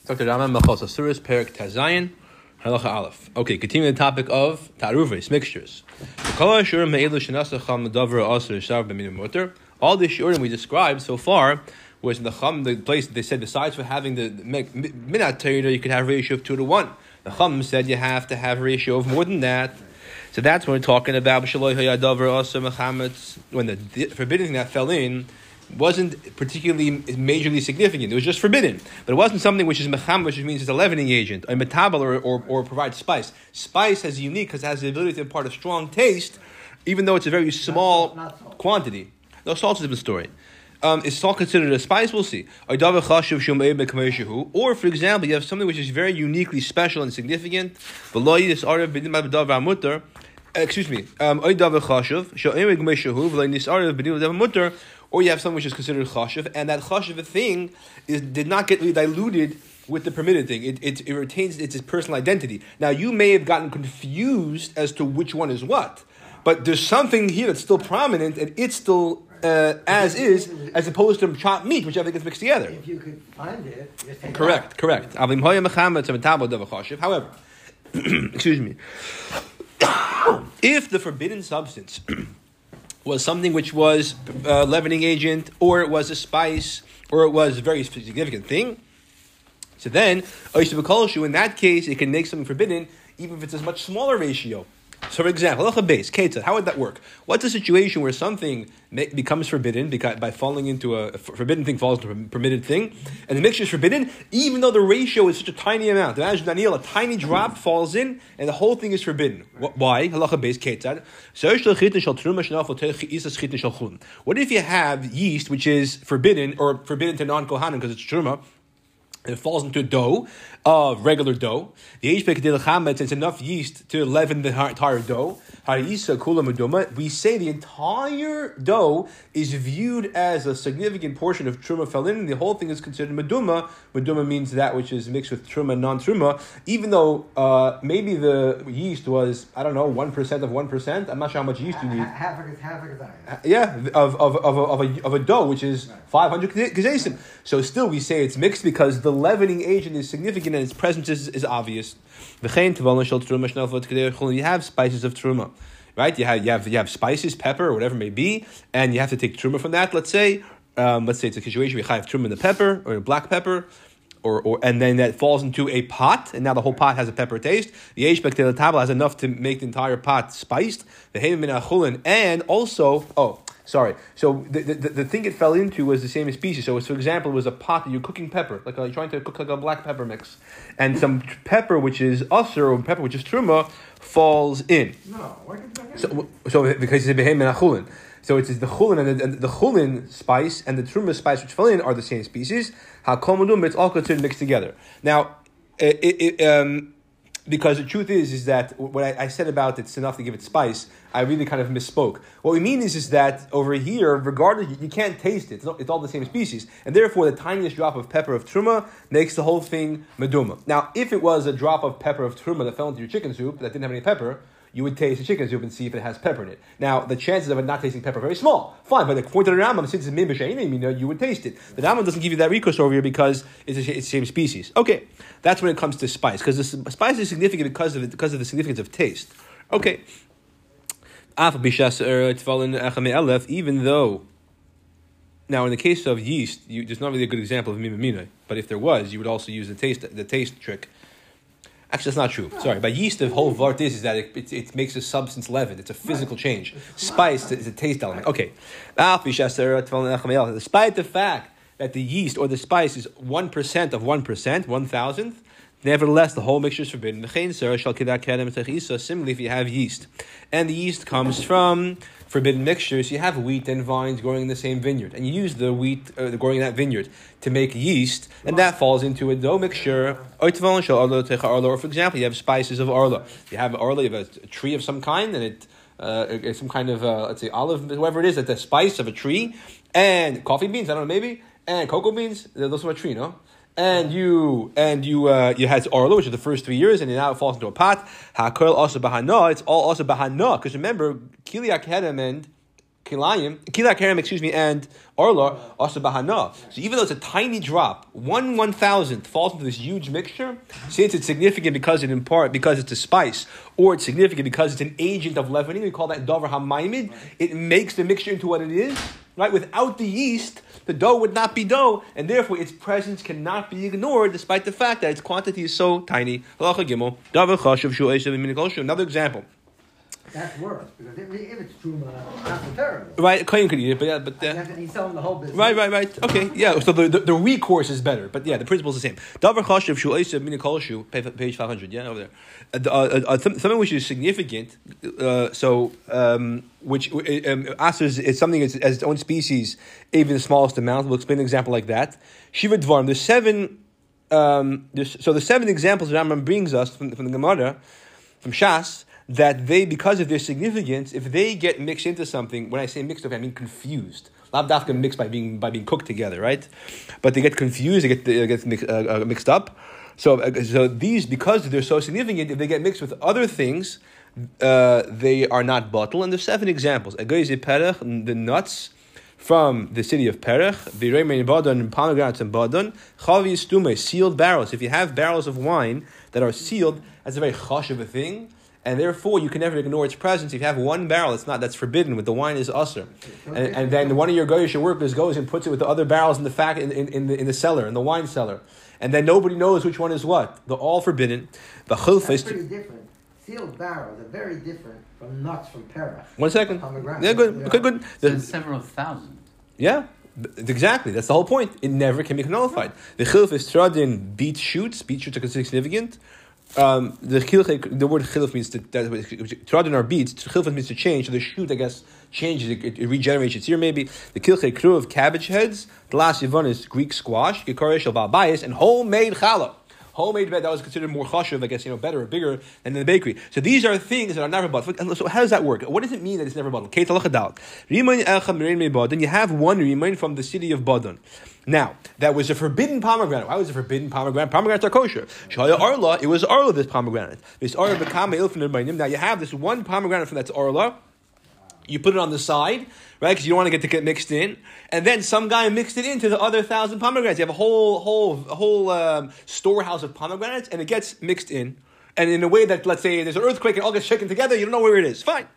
Dr. Rama Machos Asuris Perik Tazayin Halacha Aleph. Okay, continuing the topic of Taruvis, mixtures. All the shiurim we described so far was in the place that they said besides for having the minat Torah, you could have a ratio of 2 to 1. The Chum said you have to have a ratio of more than that. So that's what we're talking about. When the forbidden thing that fell in wasn't particularly majorly significant. It was just forbidden. But it wasn't something which is mecham, which means it's a leavening agent, a metabel, or provides spice. Spice has unique because it has the ability to impart a strong taste, even though it's a very small quantity. No, salt is a different story. Is salt considered a spice? We'll see. Or, for example, you have something which is very uniquely special and significant. Or you have something which is considered chashuv, and that chashuv thing did not get diluted with the permitted thing. It retains its personal identity. Now, you may have gotten confused as to which one is what, but there's something here that's still prominent, and it's still as is, as opposed to chopped meat, which everything gets mixed together. If you could find it, just take correct. However, excuse me, if the forbidden substance was something which was a leavening agent, or it was a spice, or it was a very significant thing, so then, in that case, it can make something forbidden, even if it's a much smaller ratio. So, for example, how would that work? What's a situation where something becomes forbidden by falling into a forbidden thing falls into a permitted thing, and the mixture is forbidden, even though the ratio is such a tiny amount? Imagine, Daniel, a tiny drop falls in, and the whole thing is forbidden. Why? What if you have yeast which is forbidden, or forbidden to non-kohanim because it's truma, and it falls into dough, regular dough. The it's enough yeast to leaven the entire dough. We say the entire dough is viewed as a significant portion of truma fell in, and the whole thing is considered meduma. Meduma means that which is mixed with truma and non-truma, even though maybe the yeast was, 1% of 1%. I'm not sure how much yeast you need. Half a of a dough, which is 500 gezesim. So still we say it's mixed because the leavening agent is significant and its presence is obvious. You have spices of truma, right? You have spices, pepper, or whatever it may be, and you have to take truma from that. Let's say it's a situation where you have truma in the pepper or black pepper, or and then that falls into a pot, and now the whole pot has a pepper taste. The Eish table has enough to make the entire pot spiced. And also, sorry. So the thing it fell into was the same species. So, for example, it was a pot that you're cooking pepper, like you're trying to cook like a black pepper mix, and some pepper which is usher or pepper which is truma falls in. No, why can so because it's a behem and a chulin. So it is the chulin and the chulin spice and the truma spice which fell in are the same species. It's all considered mixed together. Now, because the truth is that what I said about it's enough to give it spice, I really kind of misspoke. What we mean is that over here, regardless, you can't taste it. It's all the same species. And therefore, the tiniest drop of pepper of truma makes the whole thing meduma. Now, if it was a drop of pepper of truma that fell into your chicken soup that didn't have any pepper, you would taste the chicken soup and see if it has pepper in it. Now, the chances of it not tasting pepper are very small. Fine, but according to the Rambam, since it's min b'sheinim, you would taste it. The Rambam doesn't give you that recourse over here because it's the same species. Okay, that's when it comes to spice, because the spice is significant because of the significance of taste. Okay. Even though, now in the case of yeast, there's not really a good example of mimimina, but if there was, you would also use the taste trick. Actually, that's not true. Sorry. By yeast, the whole vart is that it makes a substance leavened. It's a physical change. Spice is a taste element. Okay. Despite the fact that the yeast or the spice is 1% of 1%, 1,000th, nevertheless, the whole mixture is forbidden. Similarly, if you have yeast, and the yeast comes from forbidden mixtures, you have wheat and vines growing in the same vineyard, and you use the wheat growing in that vineyard to make yeast, and that falls into a dough mixture. Or, for example, you have spices of arla. You have arla, you have a tree of some kind, and it's some kind of, let's say, olive, whatever it is, that's a spice of a tree, and coffee beans, I don't know, maybe, and cocoa beans, those are a tree, no? And you had Orla, which is the first 3 years, and now it falls into a pot. Hakol also bahana. It's all also bahana, because remember, Kiliak Hedem and Kila Kerem, and Orla, also Bahana. So even though it's a tiny drop, 1/1000th falls into this huge mixture, since it's significant because it's a spice, or it's significant because it's an agent of leavening, we call that Dover HaMaimid, it makes the mixture into what it is, right? Without the yeast, the dough would not be dough, and therefore its presence cannot be ignored despite the fact that its quantity is so tiny. Another example. That's worse, because if it's truma, that's terrible. Right, Kohen could eat it, but He's selling the whole business. Right. Okay, yeah. So the recourse is better, but yeah, the principle is the same. Davar chashuv shu oiseh min kol shu, page 500. Yeah, over there. Something which is significant. Which asers is something as its own species, even the smallest amount. We'll explain an example like that. Shiva dvarim. There's seven. The 7 examples that Rambam brings us from the Gemara, from Shas, that they, because of their significance, if they get mixed into something, when I say mixed up, I mean confused. Lav dafka mixed by being cooked together, right? But they get confused, they get mixed up. So these, because they're so significant, if they get mixed with other things, they are not bottle. And there's 7 examples. The nuts from the city of Perech, the Remein Badon, pomegranates and Badon, Chavi Stume, sealed barrels. If you have barrels of wine that are sealed, that's a very chosh of a thing. And therefore, you can never ignore its presence. If you have one barrel, that's forbidden. With the wine is usher, and then one of your goyish workers goes and puts it with the other barrels in the the cellar, in the wine cellar, and then nobody knows which one is what. They're all forbidden. That's pretty different. Sealed barrels are very different from nuts from Perach. 1 second. Yeah, good. Okay, good. There's several thousand. Yeah. Exactly, that's the whole point. It never can be nullified. The chilf is trodden beet shoots. Beet shoots are considered significant. The word chilf means trodden are beets. Chilf means to change. So the shoot, I guess, changes. It regenerates its ear. Maybe the kilchei crew of cabbage heads. The last yavon is Greek squash. Gekarish al bayis and homemade challah. Homemade bread, that was considered more chashuv, I guess, better or bigger than in the bakery. So these are things that are never bought. So how does that work? What does it mean that it's never bought? Then you have one rimain from the city of Badon. Now, that was a forbidden pomegranate. Why was it a forbidden pomegranate? Pomegranates are kosher. Shaya Arla, it was Arla, this pomegranate. This Arla became Now you have this one pomegranate from that's Arla. You put it on the side, right? Because you don't want to get mixed in, and then some guy mixed it into the other 1,000 pomegranates. You have a whole storehouse of pomegranates, and it gets mixed in, and in a way that, let's say, there's an earthquake and it all gets shaken together. You don't know where it is. Fine.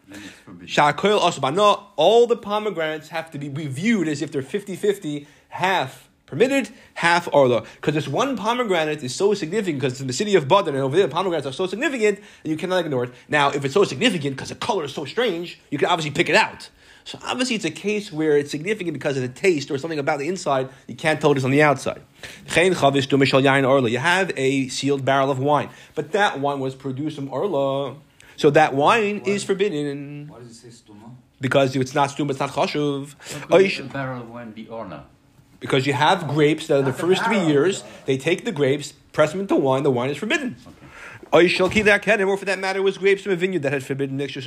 All the pomegranates have to be reviewed as if they're 50-50, half permitted, half orla. Because this one pomegranate is so significant, because in the city of Badon and over there, the pomegranates are so significant that you cannot ignore it. Now, if it's so significant because the color is so strange, you can obviously pick it out. So obviously it's a case where it's significant because of the taste or something about the inside. You can't tell it's on the outside. You have a sealed barrel of wine, but that wine was produced from orla. So that wine is forbidden. Why does it say stuma? Because if it's not stuma, it's not chashuv. The barrel of wine be orla? Because you have grapes that are the first 3 years, they take the grapes, press them into wine, the wine is forbidden. Or for that matter, it was grapes from a vineyard that had forbidden mixtures.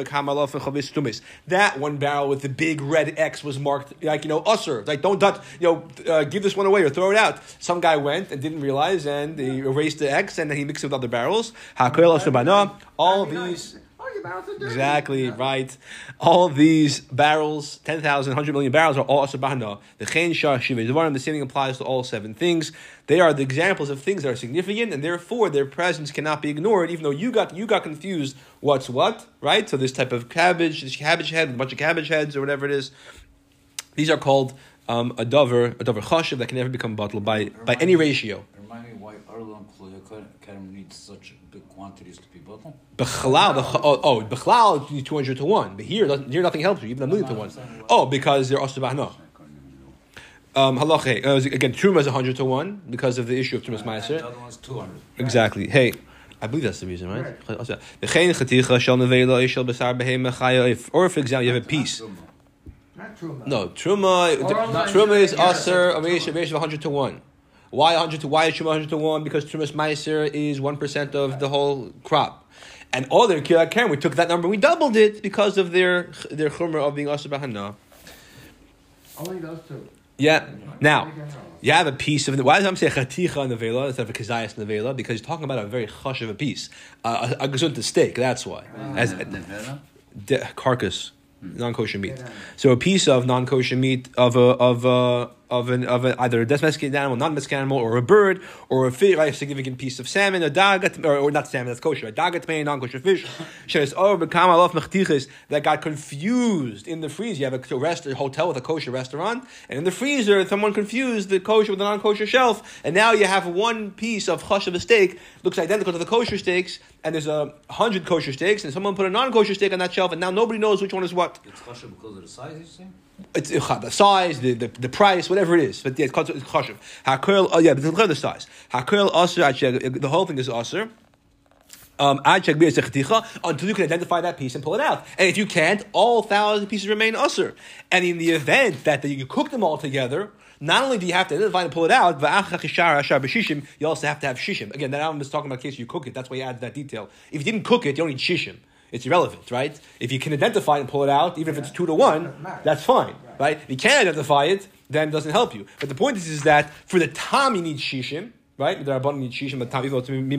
That one barrel with the big red X was marked, usher. Like, don't touch, give this one away or throw it out. Some guy went and didn't realize, and he erased the X, and then he mixed it with other barrels. All these... Exactly, right. All these barrels, 10,000, 100 million barrels, are all asabahana. The chen shah shiva devarim. The same thing applies to all 7 things. They are the examples of things that are significant, and therefore their presence cannot be ignored. Even though you got confused, what's what, right? So this type of this cabbage head, a bunch of cabbage heads, or whatever it is. These are called a davar chashiv that can never become bottled by any ratio. Remind me why Arla and Kerem needs such big quantities to be bottled? Bechlal, 200 to 1. But here nothing helps you, even a million to 1. Oh, because they're asubahna. Halacha. Again, Truma is 100 to 1 because of the issue of Trumas Meiser. The other one's 200. Exactly. Hey, I believe that's the reason, right? Or for example, you have a piece. Not truma. No, Truma is aser a ratio of 100 to 1. Why 100 to? Why is Truma 100 to 1? Because Trumas Meiser is 1% of the whole crop. And all their Kirat Karen, we took that number, we doubled it because of their chumrah of being aser b'hana. Only those 2. Yeah. Now, you have a piece of it. Why does I'm saying chaticha nevela instead of a kazayas nevela? Because you're talking about a very chush of a piece, a gesunta steak. That's why. As nevela, carcass. non-kosher meat. So a piece of non-kosher meat of either a domesticated animal, non-domesticated animal, or a bird, or a fish, right, a significant piece of salmon, a dagat, or not salmon, that's kosher, a dagat, non-kosher fish, that got confused in the freezer. You have a hotel with a kosher restaurant, and in the freezer, someone confused the kosher with the non-kosher shelf, and now you have one piece of chush of a steak, looks identical to the kosher steaks, and there's 100 kosher steaks, and someone put a non-kosher steak on that shelf, and now nobody knows which one is what. It's kosher because of the size, you say? It's the size, the price, whatever it is. But yeah, it's chashuv. Hakurl, but the size. Hakurl aser, the whole thing is aser. Until you can identify that piece and pull it out. And if you can't, all 1,000 pieces remain aser. And in the event that you cook them all together, not only do you have to identify and pull it out, you also have to have shishim. Again, that I'm just talking about in case you cook it. That's why you add that detail. If you didn't cook it, you don't need shishim. It's irrelevant, right? If you can identify it and pull it out, even if it's 2 to 1, that's fine, right? If you can't identify it, then it doesn't help you. But the point is that for the tam you need shishim, right? The rabbanon need shishim, the tam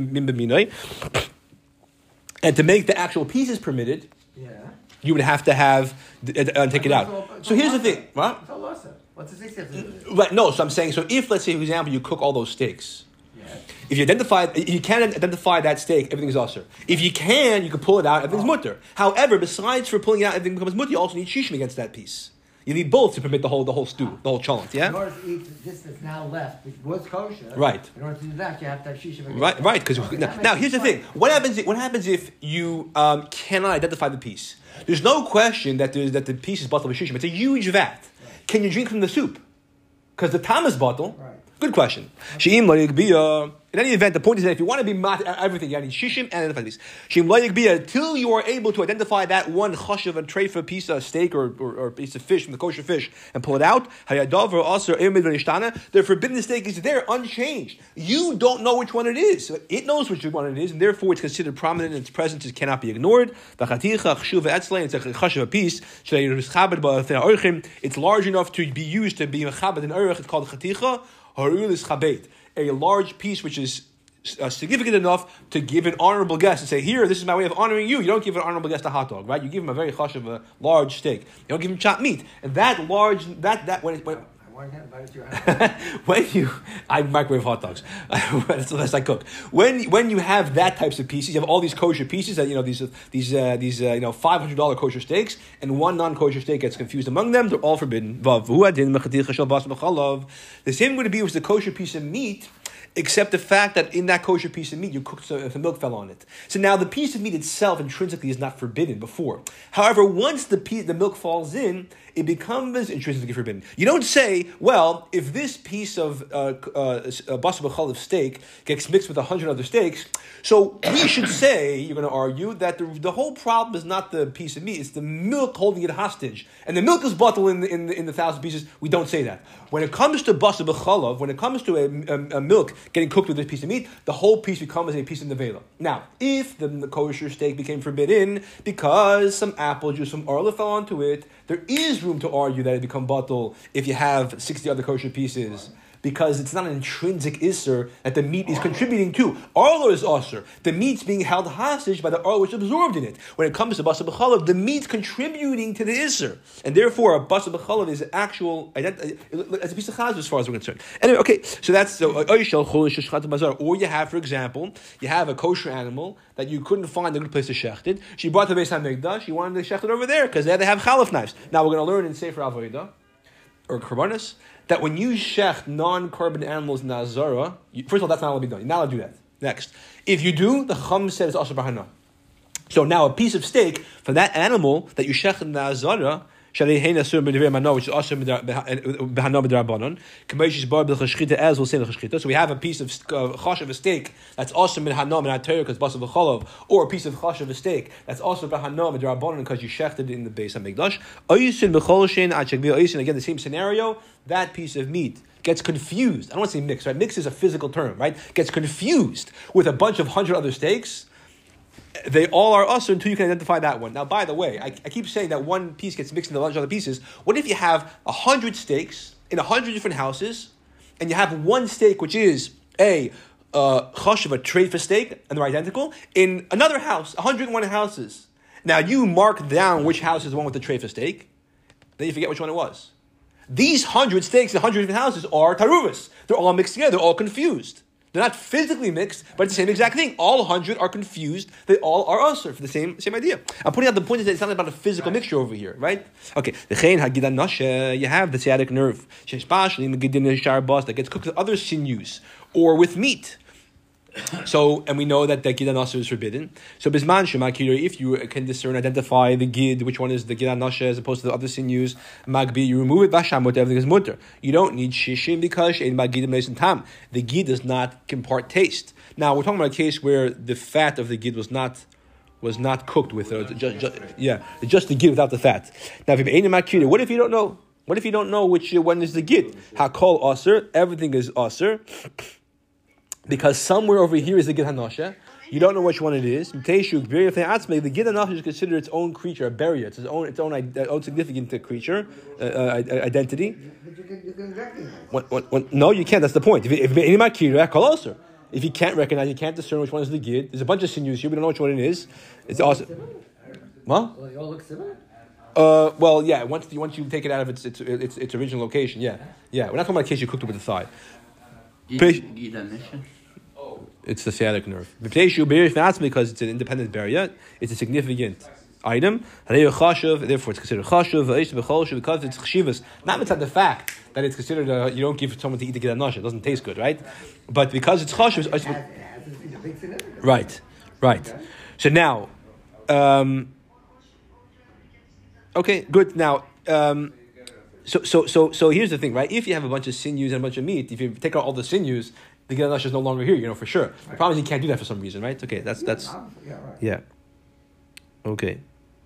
and to make the actual pieces permitted, you would have to have take it out. So here's the thing, right? What's the 60th? Right. No. So I'm saying, so if let's say, for example, you cook all those steaks. If you can't identify that steak, everything's usher. If you can, you can pull it out, everything's mutter. However, besides for pulling it out, everything becomes mutter, you also need shishim against that piece. You need both to permit the whole stew, the whole cholent, yeah? In order to eat this that's now left, which was kosher, right. In order to do that, you have to have shishim against right, right. Because now here's the thing. What happens if you cannot identify the piece? There's no question that the piece is bottled with shishim. It's a huge vat. Right. Can you drink from the soup? Because the tam is bottled. Right. Good question. In any event, the point is that if you want to be everything, you need shishim and identify these. Until you are able to identify that one chashav and treifa piece of steak or piece of fish from the kosher fish and pull it out, the forbidden steak is there unchanged. You don't know which one it is. It knows which one it is, and therefore it's considered prominent and its presence cannot be ignored. It's a chashav piece. It's large enough to be used to be mechabed in orich. It's called chaticha. A large piece which is significant enough to give an honorable guest and say, here, this is my way of honoring you. You don't give an honorable guest a hot dog, right? You give him a very chashav, a large steak. You don't give him chopped meat. And that large, I microwave hot dogs. That's the best I cook. When you have that types of pieces, you have all these kosher pieces that these $500 kosher steaks, and one non-kosher steak gets confused among them. They're all forbidden. The same going to be with the kosher piece of meat, except the fact that in that kosher piece of meat, you cooked if the milk fell on it. So now the piece of meat itself intrinsically is not forbidden before. However, once the milk falls in, it becomes intrinsically forbidden. You don't say, well, if this piece of basar b'chalav steak gets mixed with 100 other steaks, so we should say, you're going to argue, that the whole problem is not the piece of meat, it's the milk holding it hostage. And the milk is bottled in the 1,000 pieces. We don't say that. When it comes to basar b'chalav, when it comes to a milk getting cooked with this piece of meat, the whole piece becomes a piece of nevela. Now, if the kosher steak became forbidden because some apple juice, some arla fell onto it, there is room to argue that it become batal if you have 60 other kosher pieces. Because it's not an intrinsic isser that the meat is contributing to. Arlo is usher. The meat's being held hostage by the arlo which is absorbed in it. When it comes to basar b'chalav, the meat's contributing to the isser. And therefore, a basar b'chalav is actual, it's a piece of chaz as far as we're concerned. Anyway, okay, so that's, or you have, for example, you have a kosher animal that you couldn't find a good place to shecht it. She brought the Beis HaMikdash, you wanted to shecht it over there, because there they have chalaf knives. Now we're going to learn in Sefer Avodah, or Karbanis, that when you shecht non-carbon animals in the Azara, first of all, that's not allowed to be done. You're not allowed to do that. Next. If you do, the Chum said it's also bahana. So now a piece of steak from that animal that you shecht in the Azara, which is also behana b'drabanan. As we'll say the chashchita. So we have a piece of chash of a steak that's also behana b'natayr because basar v'chalav, or a piece of chash of a steak that's also behana b'drabanan because you shechted in the Beis HaMikdash. Again, the same scenario. That piece of meat gets confused. I don't want to say mixed, right? Mix is a physical term, right? Gets confused with a bunch of 100 other steaks. They all are usher until you can identify that one. Now, by the way, I keep saying that one piece gets mixed into a bunch of other pieces. What if you have 100 steaks in 100 different houses, and you have one steak which is a chashav, a treifa steak, and they're identical, in another house, 101 houses, Now you mark down which house is the one with the tray for steak. Then you forget which one it was. These 100 steaks in 100 different houses are taruvas. They're all mixed together. They're all confused. They're not physically mixed, but it's the same exact thing. All 100 are confused. They all are usher for the same idea. I'm pointing out the point is that it's not about a physical mixture over here, right? Okay. You have the sciatic nerve that gets cooked with other sinews or with meat. So, and we know that the Gid Nasher is forbidden. So, Bisman Shemakir, if you can discern, identify the Gid, which one is the Gid Nasher as opposed to the other sinews, Magbi, you remove it, Bashamot, everything is mutter. You don't need Shishim because Shein Magid Mesin Tam. The Gid does not impart taste. Now, we're talking about a case where the fat of the Gid was not cooked with it. Just the Gid without the fat. Now, what if you don't know? What if you don't know which one is the Gid? Hakol Aser, everything is Aser. Because somewhere over here is the Gid HaNasha. You don't know which one it is. The Gid HaNasha is considered its own creature, a barrier. It's its own significant creature, identity. But you can recognize. No, you can't. That's the point. If you can't recognize, you can't discern which one is the Gid. There's a bunch of sinews here. We don't know which one it is. It's awesome. What? Well, they all look similar? Well, yeah. Once you take it out of its original location, yeah. We're not talking about a case you cooked it with the thigh. It's the sciatic nerve. Because it's an independent barrier, it's a significant item. Therefore, it's considered chashuv. Because it's chshivas, not inside the fact that it's considered you don't give someone to eat the Gid HaNasha. It doesn't taste good, right? But because it's chashuv, It has a big significance. right. Okay. So now, okay, good. Now, So here's the thing, right? If you have a bunch of sinews and a bunch of meat, if you take out all the sinews, the Gid HaNasha is no longer here, for sure. Right. The problem is you can't do that for some reason, right? Okay, that's Yeah, right. yeah. Okay.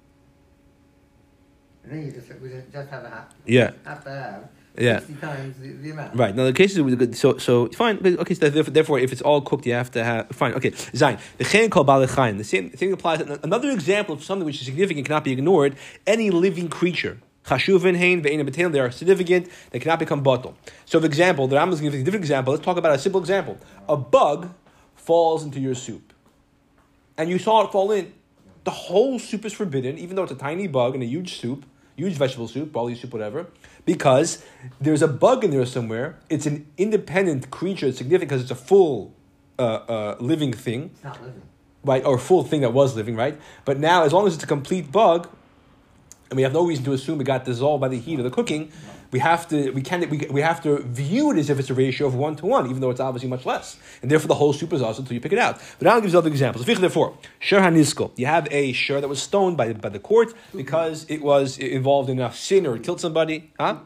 And then we just have to have 60 times the amount. Right. Now the cases with good. So fine. Okay. So therefore, if it's all cooked, you have to have fine. Okay. Zayin. The chen called balechayim. The same thing applies. Another example of something which is significant cannot be ignored. Any living creature. Chashuvin hein ve'ein betel. They are significant. They cannot become batel. So, for example, the Rambam is giving a different example. Let's talk about a simple example. A bug falls into your soup, and you saw it fall in. The whole soup is forbidden, even though it's a tiny bug in a huge soup, huge vegetable soup, barley soup, whatever, because there's a bug in there somewhere. It's an independent creature. It's significant because it's a full living thing. It's not living. Right, or a full thing that was living, right? But now, as long as it's a complete bug, and we have no reason to assume it got dissolved by the heat of the cooking, we have to view it as if it's a ratio of 1-to-1, even though it's obviously much less. And therefore the whole soup is also until you pick it out. But now gives other examples. Therefore, shur hanizko. You have a shur that was stoned by the court because it was involved in a sin or it killed somebody. Huh?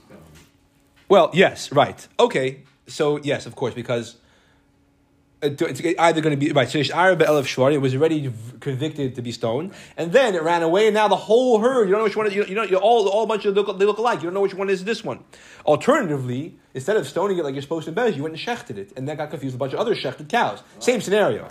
Well, yes, right. Okay. So yes, of course, because it's either going to be right. So it was already convicted to be stoned, and then it ran away, and now the whole herd. You don't know which one. You know, all a bunch of they look alike. You don't know which one is this one. Alternatively, instead of stoning it like you're supposed to in Bez, you went and shechted it, and that got confused with a bunch of other shechted cows. Same scenario.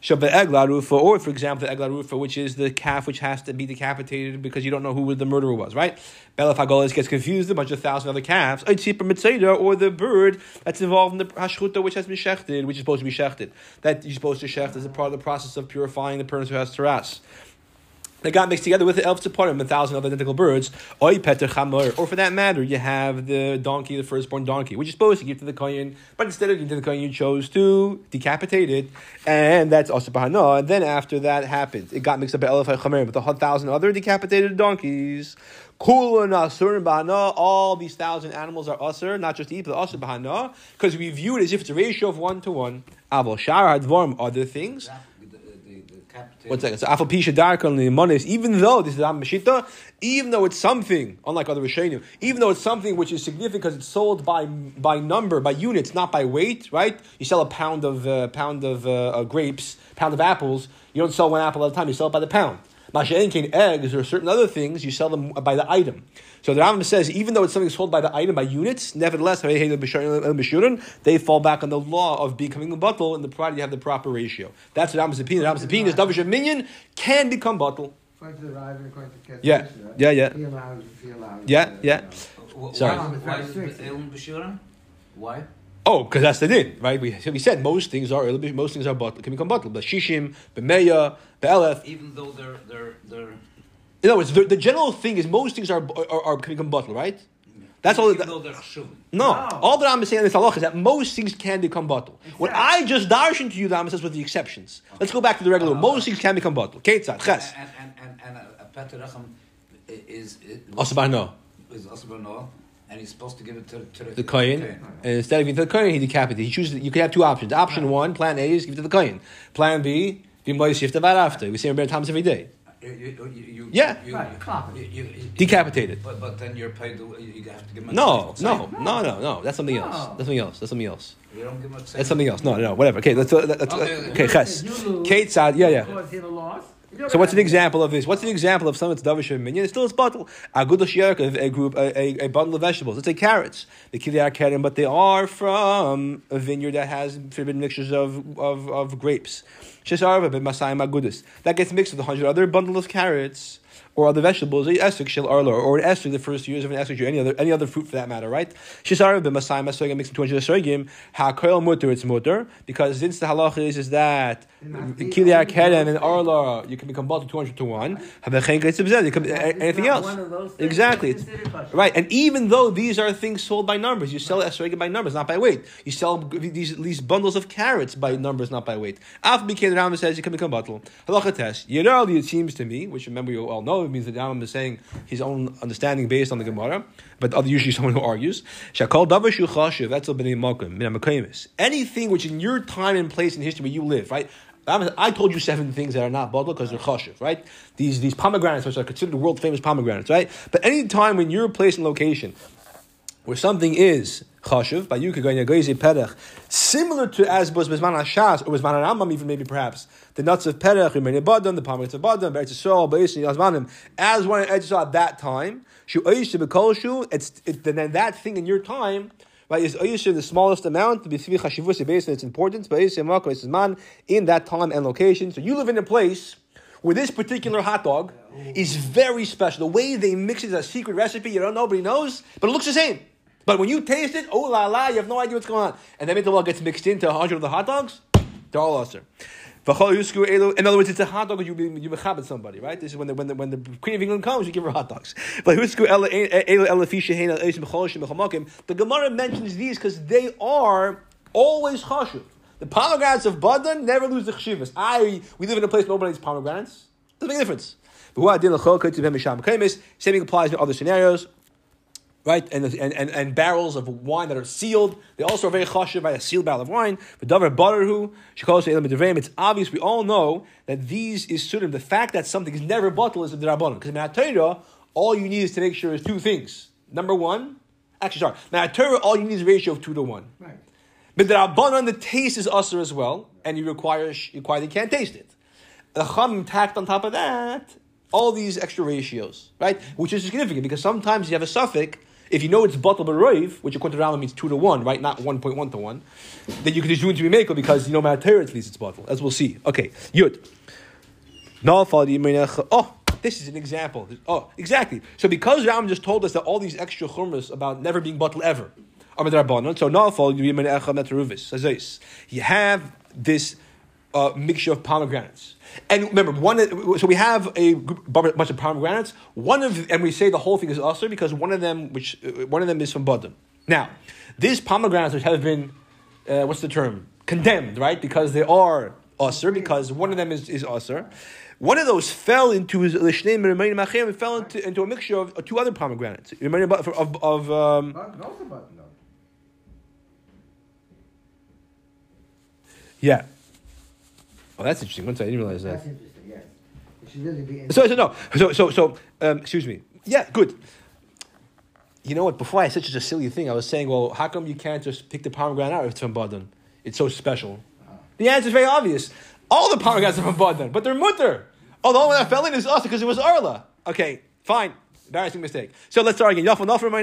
Or for example, the egla rufa, which is the calf which has to be decapitated because you don't know who the murderer was. Right? Belaf hagolis gets confused with a bunch of 1,000 other calves. Or the bird that's involved in the hashchuta, which has been shechted, which is supposed to be shechted. That you're supposed to shecht as a part of the process of purifying the person who has teras. They got mixed together with the elf tzaparim, 1,000 other identical birds. Or for that matter, you have the donkey, the firstborn donkey, which is supposed to give to the kohen, but instead of giving to the kohen, you chose to decapitate it, and that's also bahana. And then after that happened, it got mixed up with elf chamer, with the 1,000 other decapitated donkeys. Kula nasur and bahana, all these 1,000 animals are usur, not just eat, but also bahana, because we view it as if it's a ratio of 1-to-1. Aval shar hadvarm, other things. One second. So afal pisha darkon limonis. Even though this is Meshita, even though it's something unlike other rishonim, even though it's something which is significant because it's sold by number, by units, not by weight. Right? You sell a pound of grapes, pound of apples. You don't sell one apple at a time. You sell it by the pound. Masha'enkin eggs or certain other things, you sell them by the item. So the Rambam says, even though it's something sold by the item, by units, nevertheless, they fall back on the law of becoming a bottle, and the provided you have the proper ratio. That's what Rambam's opinion. Rambam's opinion is Davish Minyan can become bottle. According to the River, according to Kesef, Yeah. He allows. Yeah. Why? Sorry. Why? Oh, because that's the din, right? We said most things are bottle, can become bottle. But shishim, bemeya, be'elef. Even though they're In other words, the general thing is most things are can become bottle, right? That's all. Even though they're chshuvim. No, all that I'm saying in this halach is that most things can become bottle. Exactly. What I just darshan to you, the Rambam says, with the exceptions. Okay. Let's go back to the regular. Most things can become bottle. Ketzad, ches. And a Peterachem is Asabano. Is Asabano, and he's supposed to give it to The kohen, and instead of giving it to the kohen, he decapitated. He chooses. You can have two options. Option one, plan A, is give it to the kohen. Plan B, after. We say in times every day. Decapitated. But then you're paid. You have to give him. No. That's something else. That's something else. You don't give him. That's something else. No. Whatever. Okay. Okay. Ches. Ketzad. Yeah. So what's an example of this? What's an example of something that's davish minion? It's still a bottle. A good a bundle of vegetables. Let's say carrots. The kiliyar keren, but they are from a vineyard that has forbidden mixtures of grapes. That gets mixed with 100 other bundle of carrots or other vegetables, or an esrog, the first years of an esrog, or any other fruit for that matter, right? Shisar b'masayim esrogim mixed with 200 esrogim. Ha'koil mutter, it's mutter, because since the halach is that kiliyar keren and arla, you can become bottled 200 to 1. Anything else? Exactly. Right, and even though these are things sold by numbers, you sell esrogim by numbers, not by weight. You sell these bundles of carrots by numbers, not by weight. After the Rambam says you can become bottled. Halacha test. Yerali, it seems to me, which remember you all know, it means that Rambam is saying his own understanding based on the Gemara, but usually someone who argues. Shakal davashu chashiv etzel b'nei makom min ha'mekaymis. Anything which in your time and place in history where you live, right? I told you 7 things that are not bottled because they're chashiv, right? These pomegranates, which are considered world famous pomegranates, right? But any time when you're placed in location where something is chashiv, by you perech, similar to as was Bezman Hashas or Bezman Rambam, even maybe perhaps the nuts of perech, Rimeni Badam, the pomegranates of Badam, Beretz Yisrael, Beis Yazmanim, as one Eretz Yisrael at that time, then that thing in your time, right, is in the smallest amount, based on its importance, in that time and location. So you live in a place where this particular hot dog is very special. The way they mix it is a secret recipe, nobody knows, but it looks the same. But when you taste it, oh la la, you have no idea what's going on. And then it gets mixed into 100 of the hot dogs, they're all usher. In other words, it's a hot dog you mechabed somebody, right? This is when the Queen of England comes, you give her hot dogs. But the Gemara mentions these because they are always chashuv. The pomegranates of Badan never lose the chshivas. We live in a place where nobody eats pomegranates. Doesn't make a difference. Same thing applies to other scenarios. Right, and barrels of wine that are sealed, they also are very chashiv by a sealed barrel of wine. But davar bararhu shekol she'elam b'devrayim. It's obvious. We all know that these is sudim. The fact that something is never bottled is the rabbanon. Because in Torah, all you need is to make sure is 2 things. Number one, Torah, all you need is a ratio of 2 to 1. Right. But the rabbanon, the taste is usher as well, and you can't taste it. The chum tacked on top of that all these extra ratios, right? Which is significant because sometimes you have a suffix. If you know it's bottle b'roiv, which according to Rambam means 2 to 1, right? Not 1.1 to 1, then you can just do it to be makel because you know Torah at least it's bottle, as we'll see. Okay, Yud. Oh, this is an example. Oh, exactly. So because Rambam just told us that all these extra chumras about never being bottled ever are midrabanan, so you have this mixture of pomegranates. And remember, so we have a bunch of pomegranates. And we say the whole thing is usher because one of them is from Badam. Now, these pomegranates which have been, condemned, right? Because they are usher, because one of them is usher. One of those fell into a mixture of 2 other pomegranates. Yeah. Oh, that's interesting. Once I didn't realize that. That's interesting. Yes, it should really be. Excuse me. Yeah, good. You know what? Before I said such a silly thing, I was saying, well, how come you can't just pick the pomegranate out if it's from Badan? It's so special. The answer is very obvious. All the pomegranates are from Badan, but they're mutter. Oh, the one that fell in is us because it was Arla. Okay, fine. Embarrassing mistake. So let's start again.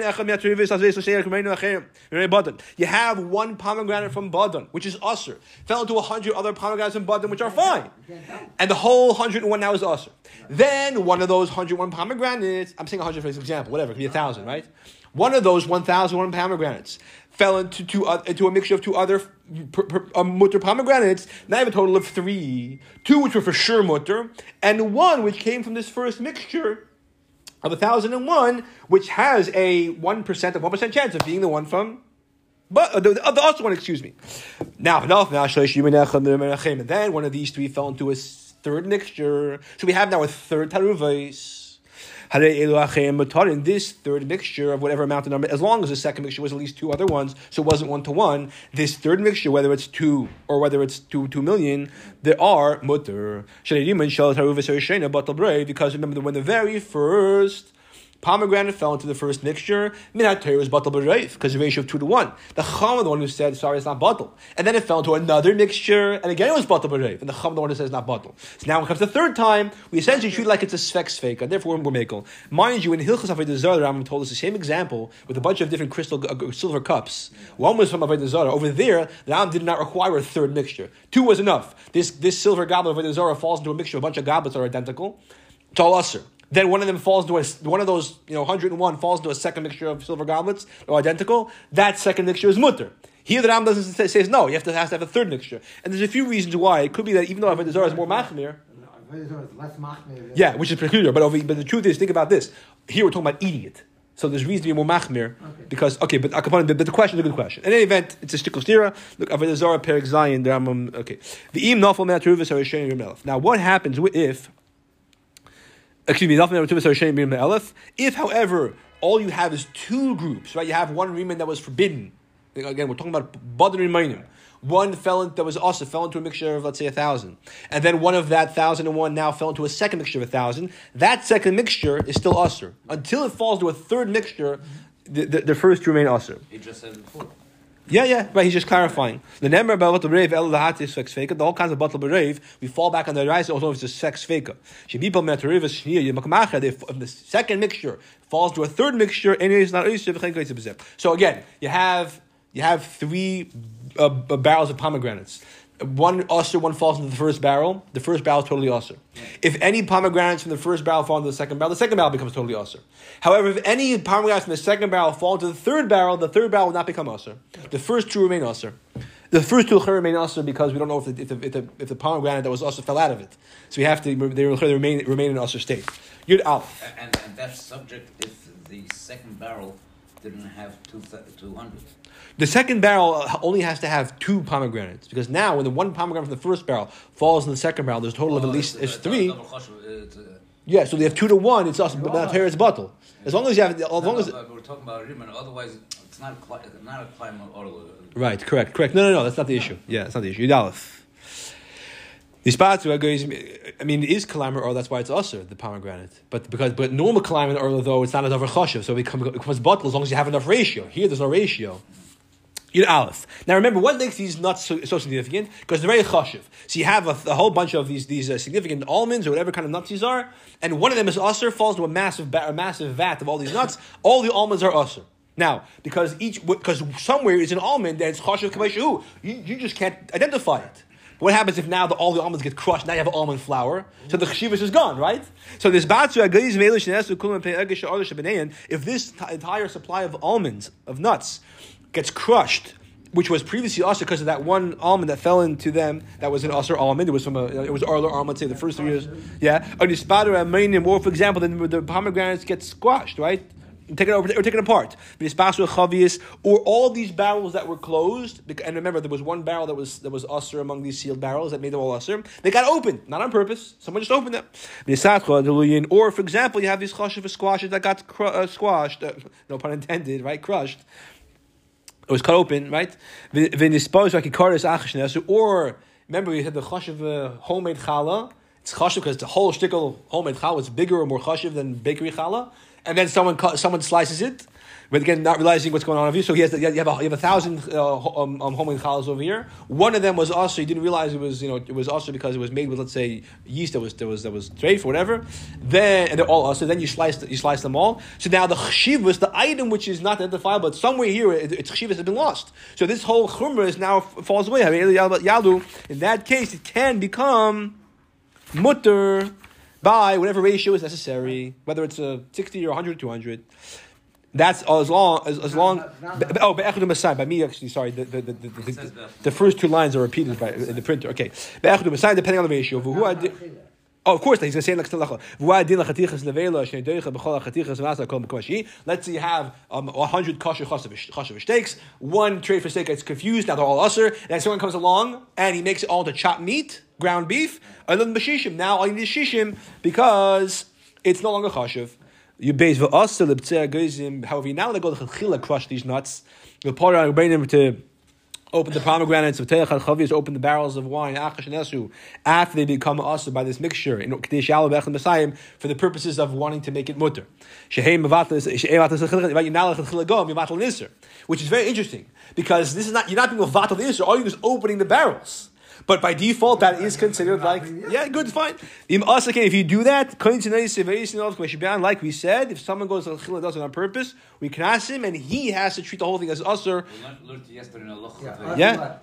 You have 1 pomegranate from Badan, which is usher. Fell into 100 other pomegranates from Badan, which are fine. And the whole 101 now is usher. Then one of those 101 pomegranates, I'm saying 100 for this example, whatever, it could be 1,000, right? One of those 1,001 pomegranates fell into a mixture of two other mutter pomegranates. Now I have a total of 3. 2 which were for sure mutter, and 1 which came from this first mixture of 1,001, which has a 1% chance of being the one from, but the other one, excuse me. Now, and then one of these 3 fell into a third mixture. So we have now a third taruvais. In this third mixture of whatever amount of number, as long as the second mixture was at least 2 other ones, so it wasn't 1-to-1, this third mixture, whether it's 2 or whether it's 2 million, there are mutter. Because remember, when the very first pomegranate fell into the first mixture, minat Torah was batal b'reif, because the ratio of 2-to-1. The Chacham was the one who said, sorry, it's not batal. And then it fell into another mixture, and again it was batal b'reif. And the Chacham the one who says it's not batal. So now when it comes to the third time, we essentially treat it like it's a sfek sfeika, and therefore we're makel. Mind you, in Hilchos Avodah Zarah, the Rambam told us the same example with a bunch of different crystal silver cups. One was from Avodah Zarah. Over there, the Rambam did not require a third mixture. 2 was enough. This silver goblet of Avodah Zarah falls into a mixture of a bunch of goblets that are identical. It's all usher. Then one of them falls into one of those, 101 falls into a second mixture of silver goblets, or identical. That second mixture is mutter. Here the Ram doesn't says no. You has to have a third mixture, and there's a few reasons why. It could be that even though Avodah Zarah is more machmir, less machmir. Yeah, which is peculiar. But the truth is, think about this. Here we're talking about eating it, so there's reason to be more machmir because but the question is a good question. In any event, it's a shtickle stira. Look, Avodah Zarah Perek Zayin. The Rambam. Okay, the im nafal me'atruvas harishayim yirmelef. Now, what happens if? If, however, all you have is 2 groups, right? You have one reman that was forbidden. Again, we're talking about badin remainim. One that was also fell into a mixture of, let's say, 1,000. And then one of that 1,001 now fell into a second mixture of 1,000. That second mixture is still usher. Until it falls to a third mixture, the first 2 remain usher. He just said before. Yeah, right. He's just clarifying. The number about the brave, the whole kinds of batal brave, we fall back on the rise. Also, it's a sex fake. If the second mixture falls to a third mixture, so again, you have 3 barrels of pomegranates. One usher, one falls into the first barrel. The first barrel is totally usher. If any pomegranates from the first barrel fall into the second barrel becomes totally usher. However, if any pomegranates from the second barrel fall into the third barrel will not become usher. The first 2 remain usher. The first 2 remain usher because we don't know if the pomegranate that was usher fell out of it. So we have to they remain in usher state. Yud Aleph. And that's subject if the second barrel didn't have 200. The second barrel only has to have 2 pomegranates because now when the one pomegranate from the first barrel falls in the second barrel, there's a total of at least 3. Yeah, so they have 2-to-1. It's also but not it's bottle. As long as you have, we're talking about Riman. Otherwise, it's not a climate order. Right, correct. No, that's not the issue. Yeah, that's not the issue. Yudalef. The spots, it is kalamer or that's why it's usher, the pomegranate. But normal kalamer or though it's not enough chashiv, so it becomes bottle as long as you have enough ratio. Here, there's no ratio. Yud Aleph. Now remember, what makes these nuts so significant? Because they're very chashiv. So you have a whole bunch of these significant almonds or whatever kind of nuts these are, and one of them is usher, falls into a massive vat of all these nuts. All the almonds are usher. Now, because somewhere is an almond and it's chashiv k'vayshu, you just can't identify it. What happens if now all the almonds get crushed? Now you have almond flour, so the cheshivas is gone, right? So this if this entire supply of almonds, of nuts, gets crushed, which was previously usher because of that one almond that fell into them, that was an usher almond. It was Arler almond, say the first 3 years. Yeah, or for example, the pomegranates get squashed, right? Taken apart. Or all these barrels that were closed, and remember there was one barrel that was usher among these sealed barrels that made them all usher. They got opened, not on purpose. Someone just opened them. Or for example, you have these chashiv squashes that got squashed, no pun intended, right? Crushed. It was cut open, right? Or remember we had the chashiv homemade challah. It's chashiv because the whole shtickle homemade challah is bigger or more chashiv than bakery challah. And then someone slices it, but again, not realizing what's going on over here. So you have 1,000 homemade challahs over here. One of them was also, he didn't realize it was also because it was made with, let's say, yeast that was treif or whatever. And they're all also. Then you slice them all. So now the chshivas, the item which is not identifiable, but somewhere here its chshivas has been lost. So this whole chumrah is now falls away. In that case, it can become mutter by whatever ratio is necessary, whether it's a 60 or 100 or 200. That's as long. Be'echad u'masai. By me, actually, sorry. The first two lines are repeated in the printer. Okay. Be'echad u'masai, depending on the ratio. Oh, of course, he's going to say next to Lecha. Let's say you have 100 kosher chashav steaks. One trade for steak gets confused. Now they're all usher. And someone comes along and he makes it all to chopped meat, ground beef. Now all you need is shishim because it's no longer chashav. You base however, you're now going to go to chila crush these nuts. You'll pour it on them to open the pomegranates, open the barrels of wine after they become usher by this mixture for the purposes of wanting to make it mutter. Which is very interesting because this is not, you're not being vatal the isser. All you do is opening the barrels. But by default, that is considered like, good, fine. If you do that, like we said, if someone goes to Chila does it on purpose, we can ask him, and he has to treat the whole thing as usher. Yeah.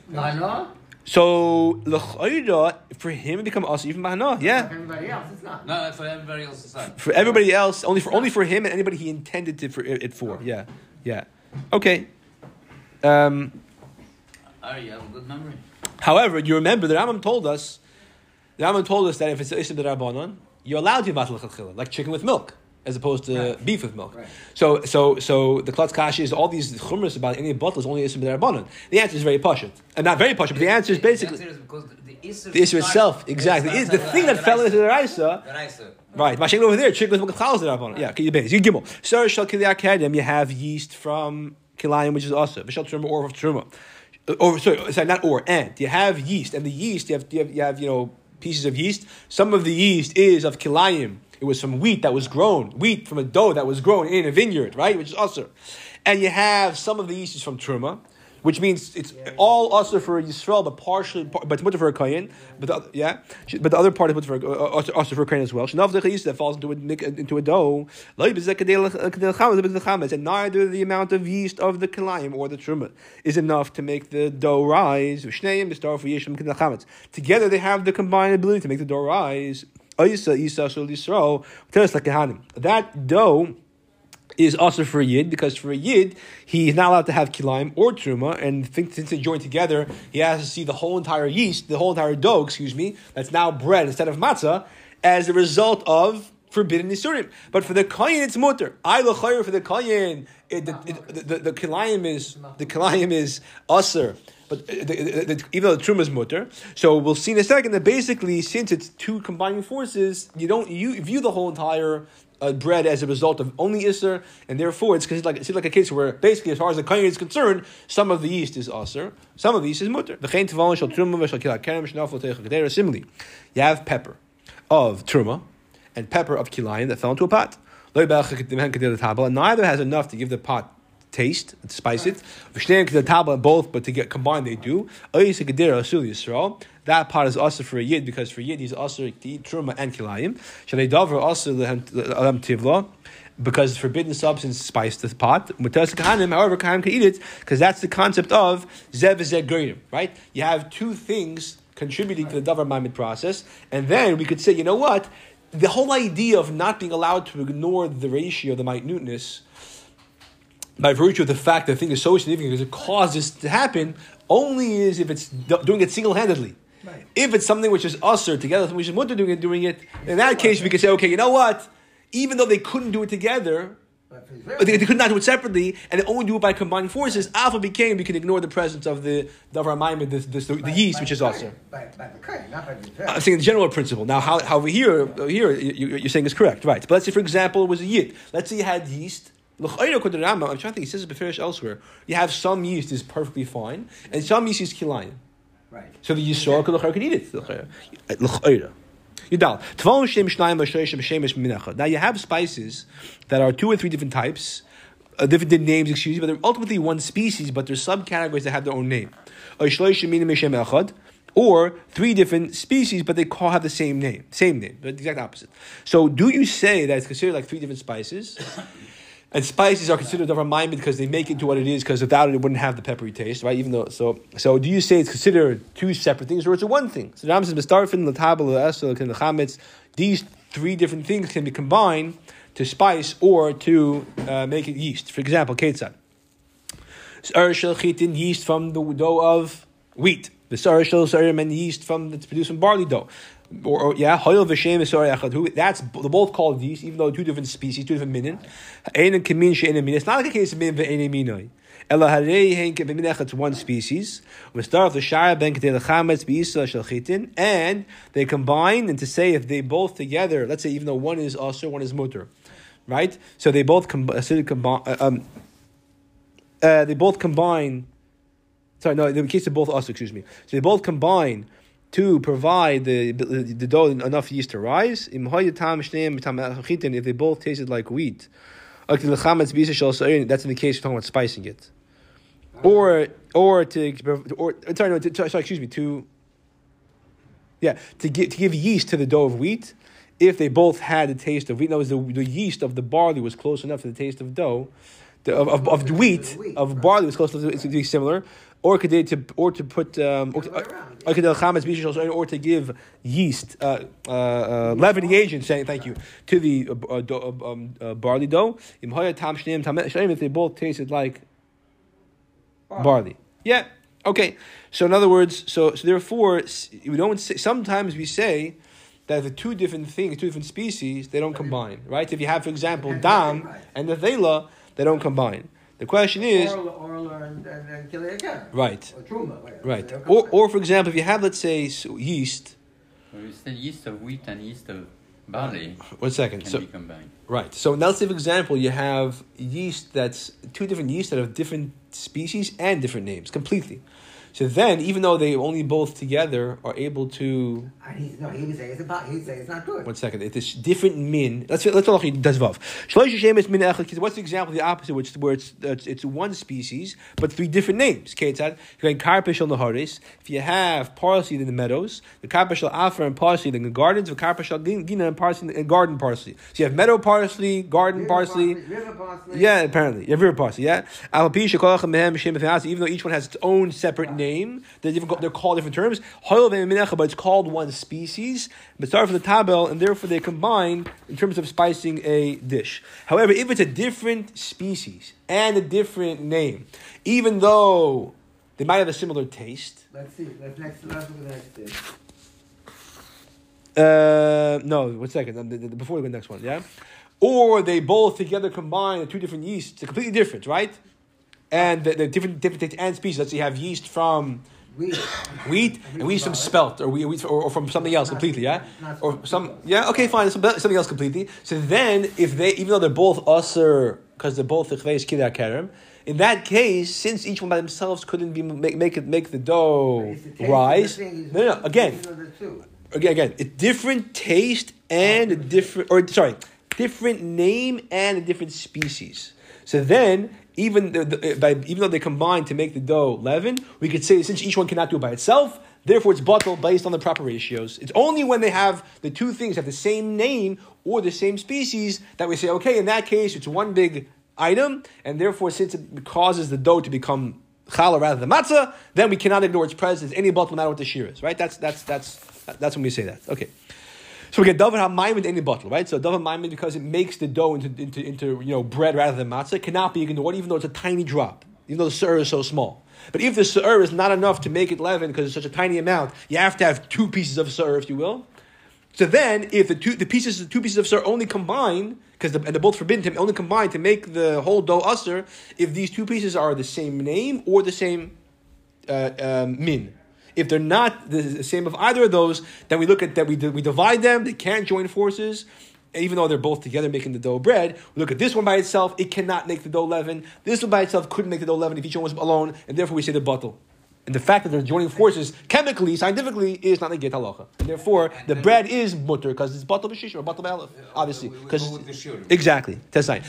So, for him to become usher, even mahana, yeah. For everybody else, it's not. No, for everybody else, it's not. For everybody else, only for him and anybody he intended it for. Yeah. Okay. You have a good memory. However, you remember the Rambam told us that if it's Isim D'Rabbanan, you're allowed to matal lechatchila, like chicken with milk, as opposed to beef with milk. Right. So the Klutz Kashi is all these chumras about any bottle is only Isim D'Rabbanan. The answer is very pashut, and not very pashut, but the answer is basically the answer is because the Isser itself, exactly. The thing that fell into the Raisa. Right, Mashing over there, chicken with milk chalas D'Rabbanan. Yeah, you gimel. Sir shal kilei kedem, you have yeast from kilayim, which is also v'shal truma or of truma. And you have yeast, and the yeast you have pieces of yeast. Some of the yeast is of kilayim. It was from wheat that was grown, wheat from a dough that was grown in a vineyard, right? Which is usher. And you have some of the yeast is from truma, which means it's all usher for Yisrael, but it's mutter for a kohen. But the other part is mutter for usher for a kohen as well. Shnav the yeast that falls into a dough. And neither the amount of yeast of the kilayim or the truma is enough to make the dough rise. Together they have the combined ability to make the dough rise. That dough is also for a yid, because for a yid, he is not allowed to have kilayim or truma, and since they join together, he has to see the whole entire yeast, the whole entire dough, that's now bread instead of matzah, as a result of forbidden isurim. But for the kohen, it's mutter. For the kohen, the kilayim is usher. But even though the truma is mutter, so we'll see in a second that basically, since it's two combining forces, you view the whole entire bread as a result of only Isser, and therefore it's considered like a case where basically, as far as the kohen is concerned, some of the yeast is Isser, some of the yeast is mutter. Similarly, you have pepper of truma and pepper of kilayim that fell into a pot. And neither has enough to give the pot taste, to spice it. Both, but to get combined, they do. That pot is also for a yid, because for yid he's also to eat truma and kilayim. Because it's forbidden substance to spice the pot. However, kahanim can eat it, because that's the concept of zev v'zeh goyim, right? You have two things contributing to the davar ma'amid process, and then we could say, you know what? The whole idea of not being allowed to ignore the ratio, the minuteness, by virtue of the fact that the thing is so significant because it causes to happen, only is if it's doing it single-handedly. Right. If it's something which is usher together, something which is mutter doing it, in that case we can say, okay, you know what? Even though they couldn't do it together, they could not do it separately, and they only do it by combining forces, alpha became, we can ignore the presence of the davar ma'amid, the yeast, which is usher. I'm saying the general principle. Now, how here you're saying is correct, right? But let's say, for example, it was a yid. Let's say you had yeast. I'm trying to think, he says it beferish elsewhere. You have some yeast is perfectly fine, and some yeast is kilayim. Right. So the Yisrael could eat it. Now you have spices that are 2 or 3 different types, different names, but they're ultimately one species, but there's subcategories that have their own name. Or 3 different species, but they have the same name, but the exact opposite. So do you say that it's considered like 3 different spices? And spices are considered davar ma'amid because they make it into what it is, because without it, it wouldn't have the peppery taste, right? Even though, so do you say it's considered 2 separate things, or it's a one thing? So Ram says, these 3 different things can be combined to spice or to make it yeast. For example, ketzad. S'ar shel chitin, yeast from the dough of wheat. The s'ar shel s'arim, and yeast that's produced from barley dough. Or hoil v'shem s'ar echad. That's they're both called yeast, even though two different species, two different minin. Ein and kamin she'ein min. It's not like a case of min ve'ein minoi. Ela harei hein kamin echad. It's one species. We start with the shara ben ketei lechametz b'isa shel chitin, and they combine. And to say if they both together, let's say even though one is asur, one is mutter, right? So they both combine. They both combine. Sorry, no. In the case of both us, excuse me. So they both combine to provide the dough enough yeast to rise. If they both tasted like wheat, that's in the case we're talking about spicing it, to give yeast to the dough of wheat. If they both had the taste of wheat, in other words, the yeast of the barley was close enough to the taste of dough. Of wheat, of barley was close to be similar, or to put or to give yeast, leavening agent. Saying thank you to the barley dough. If they both tasted like barley, yeah, okay. So in other words, so therefore we don't say. Sometimes we say that the two different things, two different species, they don't combine, right? If you have, for example, dam and the thela, they don't combine. The question is, right, right, or for example, if you have, let's say, yeast. Well, you said yeast of wheat and yeast of barley. 1 second. Can be combined. Right. So now, let's say, for example, you have yeast that's two different yeasts that have different species and different names completely. So then, even though they only both together are able to... he would say it's not good. 1 second. It's different min. Let's talk dazvav. What's the example of the opposite, where it's one species, but three different names? If you have parsley in the meadows, the karpeshel afer and parsley in the gardens, the karpeshel gina and parsley and garden parsley. So you have meadow parsley, garden parsley. River parsley. Yeah, apparently. You have river parsley, yeah? Even though each one has its own separate name, they're called different terms, but it's called one species. But start from the tabel, and therefore they combine in terms of spicing a dish. However, if it's a different species and a different name, even though they might have a similar taste. Let's see. Let's look at the next dish. No, 1 second. Before we go to the next one, yeah? Or they both together combine two different yeasts. They're completely different, right? And the different taste and species. Let's say you have yeast from wheat and yeast from spelt, or from something else completely, yeah? Or some, yeah, okay, fine, something else completely. So then, even though they're both usher, because they're both chveis kidar kerem, in that case, since each one by themselves couldn't make the dough rise, no, again, it's different taste and a different, different name and a different species. So then, even though they combine to make the dough leaven, we could say since each one cannot do it by itself, therefore it's bottled based on the proper ratios. It's only when they have the two things have the same name or the same species that we say, okay, in that case it's one big item, and therefore since it causes the dough to become challah rather than matzah, then we cannot ignore its presence. Any bottle, no matter what the shear is, right? That's when we say that. Okay. So we get davar ha'mayim with any bottle, right? So davar ha'mayim, because it makes the dough into bread rather than matzah, it cannot be ignored, even though it's a tiny drop, even though the su'ur is so small. But if the su'ur is not enough to make it leaven because it's such a tiny amount, you have to have two pieces of su'ur, if you will. So then, if the two pieces of su'ur only combine, and they're both forbidden to only combine to make the whole dough usur, if these two pieces are the same name or the same min. If they're not the same of either of those, then we look at that. We divide them. They can't join forces, even though they're both together making the dough bread. We look at this one by itself; it cannot make the dough leaven. This one by itself couldn't make the dough leaven if each one was alone, and therefore we say the bottle. And the fact that they're joining forces chemically, scientifically, is not a get halacha. And therefore, the bread is mutter because it's bottle b'shish or bottle b'alef, obviously. Because exactly, tesai.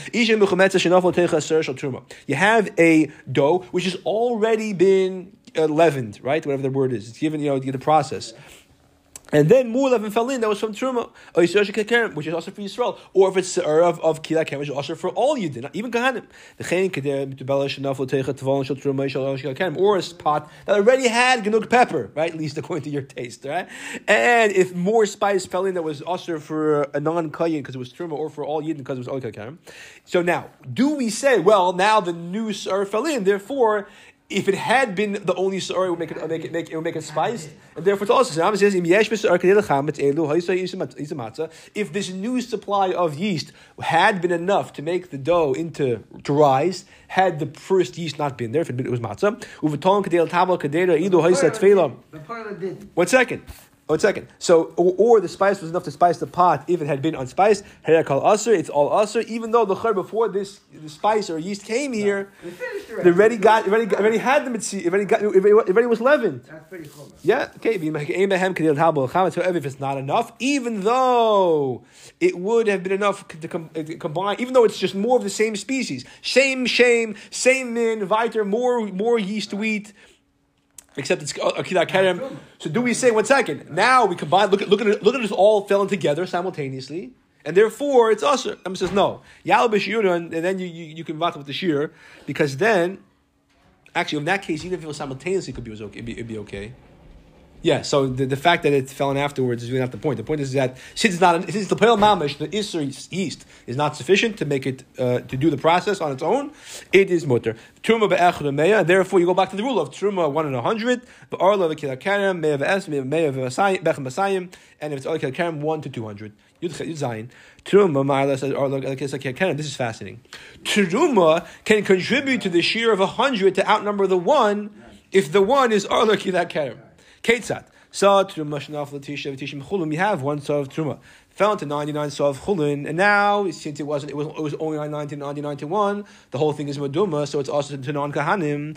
You have a dough which has already been leavened, right? Whatever the word is, it's given, you get the process. And then Mulav and fell in, that was from Truma, which is also for Yisrael. Or if it's of Kila Kem, which is also for all Yidden, even Kahanim. Or a pot that already had Ganuk pepper, right? At least according to your taste, right? And if more spice fell in that was also for a non-Kayin because it was Truma, or for all Yidden because it was Oika Kem. So now, do we say, well, now the new Sar fell in, therefore, if it had been the only sar, it would make it spiced, and therefore it's also Rambam says if this new supply of yeast had been enough to make the dough to rise, had the first yeast not been there, if it was matzah, The parlor didn't. One second. So, or the spice was enough to spice the pot if it had been unsspiced. It's all usher. Even though the chayr before the spice or yeast came here, they already had the mitzvah. It already was leavened. That's pretty cool. Yeah. Okay. However, if it's not enough, even though it would have been enough to combine, even though it's just more of the same species, same min, weiter, more yeast wheat. Except it's Akidah Kerem. So do we say, 1 second, now we combine, look at it all fell in together simultaneously, and therefore it's usher. Rambam says no. Yalbish Yura, and then you can vat with the shear, because then, actually in that case, even if it was simultaneously, it'd be okay. Yeah, so the fact that it fell in afterwards is really not the point. The point is that since the Pale Mamish, the Isser yeast, is not sufficient to make it to do the process on its own, it is mutter. Truma be'echad meya. Therefore, you go back to the rule of Truma 1 in 100, be'arla v'kila kerem, meya v'es, meya bechem masayim, and if it's kila kerem 1 to 200. Yud Zayin. Truma ma'ala says arla kila kerem. This is fascinating. Truma can contribute to the shear of 100 to outnumber the 1 if the 1 is arla kila kerem. Ketzat. Saw Truma Shnaf Latisha Vitishim Chulun. We have one saw of Truma. Fell into 99 saw of Chulun, and now since it was only 99 to 1, the whole thing is Maduma, so it's also to non Kahanim.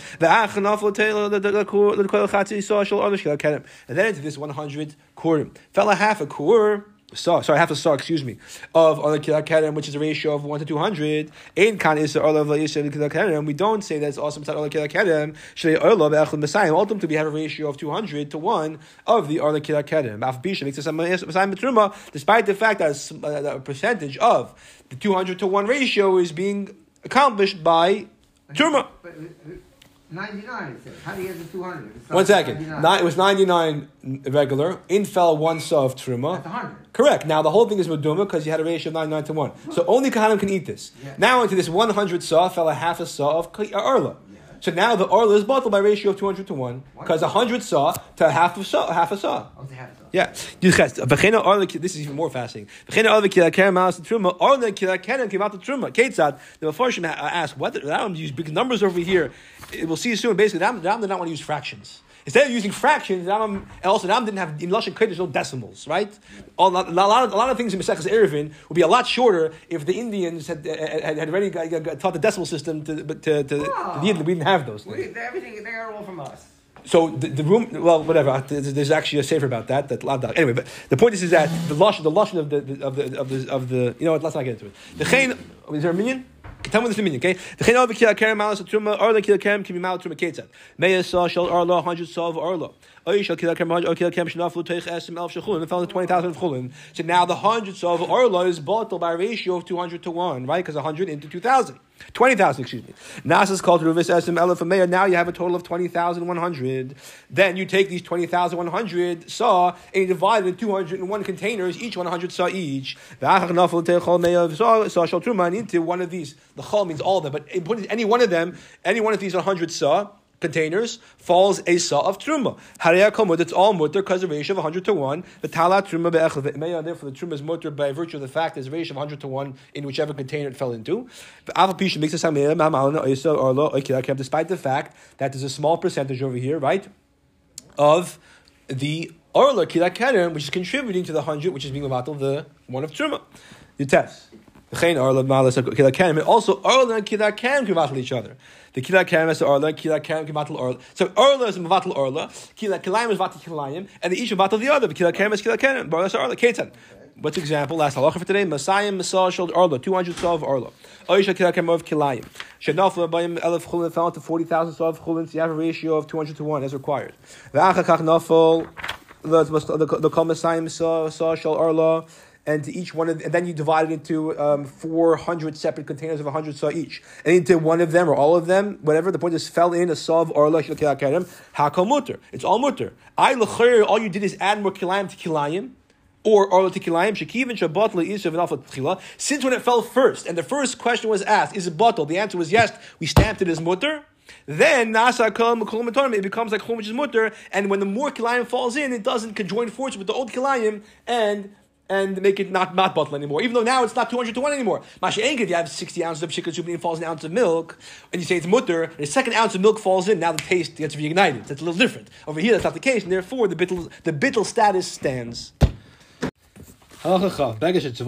And then into this 100 Kurim. Fell a half a Kur. Half a saw, of Arla Kila Kerem, which is a ratio of 1 to 200. Ein kan is Arla V'Yisrael Kila Kerem. We don't say that's also Mitzad Arla Kila Kerem. Shlei Arla V'Echad Messiah. Ultimately, we have a ratio of 200 to 1 of the Arla Kila Kerem. Af Bisha makes us a Messiah Mitruma, despite the fact that a percentage of the 200 to 1 ratio is being accomplished by Truma. 99, it says. How do you get the 200? 1 second. It was 99 regular. In fell 1 saw of Truma. That's 100. Correct. Now, the whole thing is Meduma because you had a ratio of 99 to 1. So only Kahanim can eat this. Yeah. Now, into this 100 saw fell a half a saw of Arla. Yeah. So now the Arla is bottled by ratio of 200 to 1 because 100 saw to half a saw. Oh, it's a half a saw. Yeah. This is even more fascinating. The Mefarshim ask, what? Ram use big numbers over here. We'll see soon. Basically, Ram did not want to use fractions. Instead of using fractions, Ram didn't have, in Lashon Kodesh, no decimals, right? A lot of things in Maseches Eruvin would be a lot shorter if the Indians had already taught the decimal system to the Yidden. We didn't have those things. Everything, they are all from us. So the room, well, whatever. There's actually a sefer about that. Anyway, but the point is that the lashon of the you know what? Let's not get into it. The chain, is there a minion? Tell me this minion, okay? The chain of kila kerem malas truma arla kila kerem can be mal truma ketzat. Meya saw shel arla 100 saw of arla. Oy shel kila kerem 100 kila kerem shnaflu teich esim elf shechulin. And found 20,000 of chulin. So now the 100 saw of arla is bottled by a ratio of 200 to 1, right? Because 100 into 2,000. 20,000, excuse me. Nasas called Ruvis Esim Elef Meir. Now you have a total of 20,100. Then you take these 20,100 saw and you divide it in 201 containers, each 100 saw each. Saw shall truma into one of these. The chol means all of them, but any one of them, any one of these 100 saw containers falls a saw of truma. Haraya komud, it's all mutter because the ratio of 100 to 1. The talat truma be'echel ve'meya. Therefore, the truma is mutter by virtue of the fact there's a ratio of 100 to 1 in whichever container it fell into. Despite the fact that there's a small percentage over here, right, of the orla kila keren, which is contributing to the 100, which is being about the one of truma. The test. Also, Arla and Kila Kerem can battle each other. The Kila Kerem is Arla, Kila Kerem can battle Arla. So Arla is Mavatl Arla, Kilayim is Vatl Kilayim, and they each battle the other. But Kila Kerem is Kila Kerem. Arla is Arla. Ketan. What's the example? Last halacha for today. Masayim Masal Shald Arla, 200 saw of Arla. Oisha Kila Kerem of Kilayim. Shadnafla Bayim Elef Chulin fell to 40,000 saw of Chulin. So you have a ratio of 200 to 1 as required. V'achakach Nafal. the Kol Masayim Sa Shal Arla, and to each one of, and then you divide it into 400 separate containers of 100 saw each, and into one of them or all of them, whatever. The point is, fell in a saw of Arla Shal Kedem Hakol Mutter. It's all mutter. All you did is add more kilayim to kilayim. Or Arla to Kilayim, Shekivin Shabbat Le'isav and Alpha Tchila. Since when it fell first, and the first question was asked, is it bottle? The answer was yes, we stamped it as mutter. Then Nasa Kol Mekol Matorim, it becomes like Chum, which is mutter, and when the more Kilayim falls in, it doesn't conjoin forces with the old Kilayim and make it not bottle anymore. Even though now it's not 200 to 1 anymore. Masha Engev, if you have 60 ounces of Shikha Zubin and falls an ounce of milk, and you say it's mutter, and the second ounce of milk falls in, now the taste gets reignited. That's a little different. Over here, that's not the case, and therefore the bittul status stands. You have a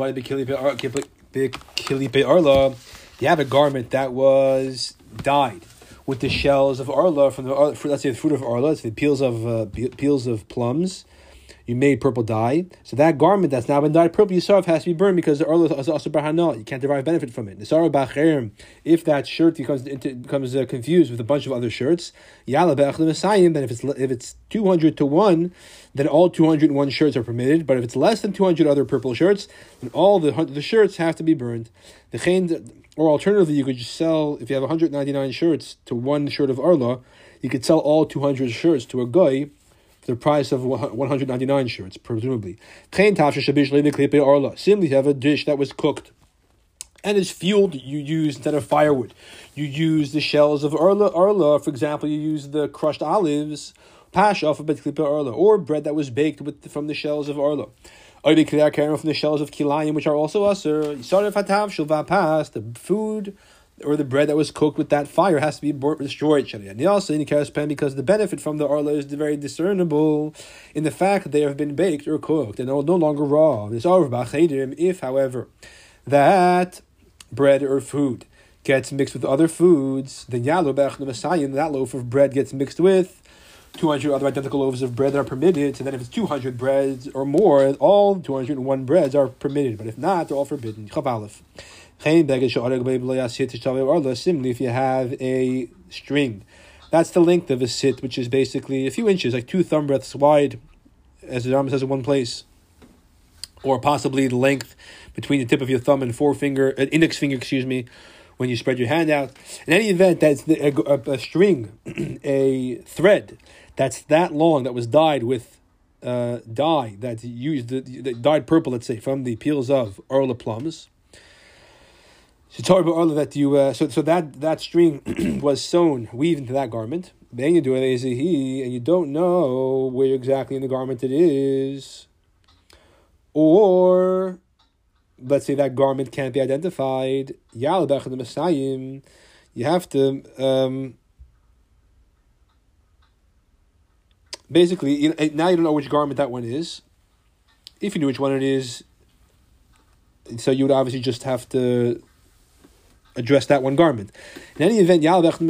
garment that was dyed with the shells of arla from the let's say the fruit of arla, it's the peels of plums. You made purple dye, so that garment that's now been dyed purple, Yisarov has to be burned because the arla is also barhanal. You can't derive benefit from it. If that shirt becomes confused with a bunch of other shirts, then if it's 200 to 1, then all 201 shirts are permitted. But if it's less than 200 other purple shirts, then all the shirts have to be burned. Or alternatively, you could just sell, if you have 199 shirts to one shirt of arla, you could sell all 200 shirts to a guy for the price of 199 shirts, presumably. Similarly, you have a dish that was cooked and is fueled, you use, instead of firewood, you use the shells of arla. For example, you use the crushed olives, pash off of arla, or bread that was baked from the shells of arla. From the shells of kilayim, which are also aser. The food or the bread that was cooked with that fire has to be destroyed. And also because the benefit from the arla is very discernible in the fact that they have been baked or cooked and are no longer raw. If, however, that bread or food gets mixed with other foods, then that loaf of bread gets mixed with 200 other identical loaves of bread that are permitted. So then if it's 200 breads or more, all 201 breads are permitted. But if not, they're all forbidden. Similarly, if you have a string, that's the length of a sit, which is basically a few inches, like 2 thumb breadths wide, as the Rambam says in one place, or possibly the length between the tip of your thumb and index finger, when you spread your hand out. In any event, that's a string, a thread that's that long, that was dyed with dye that's used, the dyed purple, let's say, from the peels of arla plums. So that string was sewn, weaved into that garment. Then you do it as a he, and you don't know where exactly in the garment it is, or let's say that garment can't be identified. You have to basically, now you don't know which garment that one is. If you knew which one it is, so you would obviously just have to address that one garment. In any event,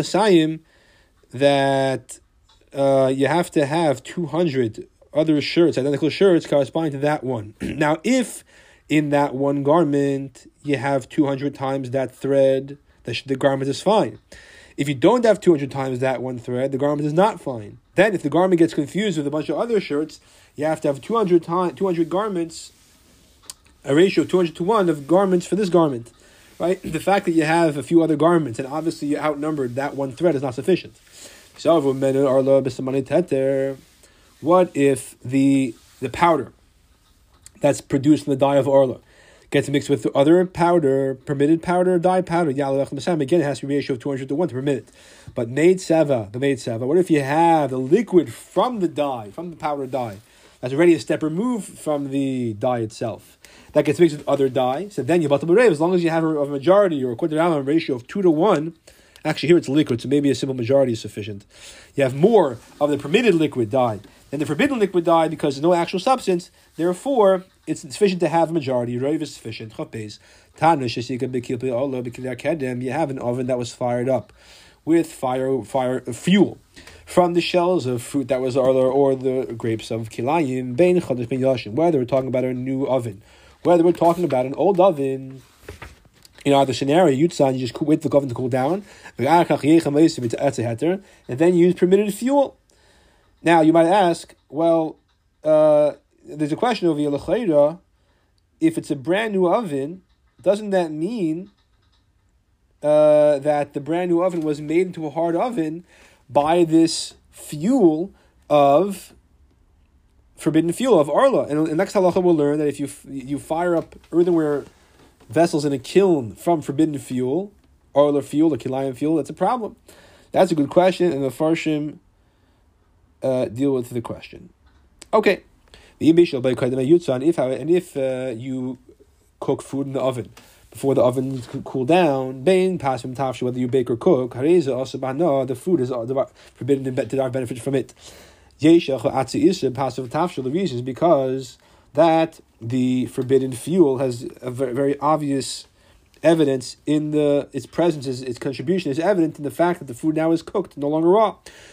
that you have to have 200 other shirts, identical shirts, corresponding to that one. Now, if in that one garment you have 200 times that thread, the garment is fine. If you don't have 200 times that one thread, the garment is not fine. Then, if the garment gets confused with a bunch of other shirts, you have to have 200 garments, a ratio of 200 to 1 of garments for this garment. Right? The fact that you have a few other garments and obviously you outnumbered that one thread is not sufficient. What if the powder that's produced in the dye of arla gets mixed with other powder, permitted powder, dye powder? Again, it has to be a ratio of 200 to 1 to permit it. But the maid seva, what if you have the liquid from the dye, from the powder dye, that's already a step removed from the dye itself, that gets mixed with other dye? So then you batal b'reiv, as long as you have a majority or a quadrillion ratio of 2 to 1. Actually, here it's liquid, so maybe a simple majority is sufficient. You have more of the permitted liquid dye than the forbidden liquid dye because there's no actual substance. Therefore, it's sufficient to have a majority. Reiv is sufficient. You have an oven that was fired up with fuel from the shells of fruit that was arla or the grapes of kilayim. Whether we're talking about a new oven, whether we're talking about an old oven. In either scenario, you just wait for the oven to cool down, and then you use permitted fuel. Now, you might ask, well, there's a question over here, l'chayra, if it's a brand new oven, doesn't that mean that the brand new oven was made into a hard oven by this fuel of forbidden fuel of arla? And in next halacha we'll learn that if you fire up earthenware vessels in a kiln from forbidden fuel, arla fuel or kilayim fuel, that's a problem. That's a good question, and the Farshim deal with the question. Okay. If you cook food in the oven before the oven cool down, whether you bake or cook, the food is forbidden to derive benefit from it. The reason is because that the forbidden fuel has a very, very obvious evidence in its presence, its contribution is evident in the fact that the food now is cooked, no longer raw.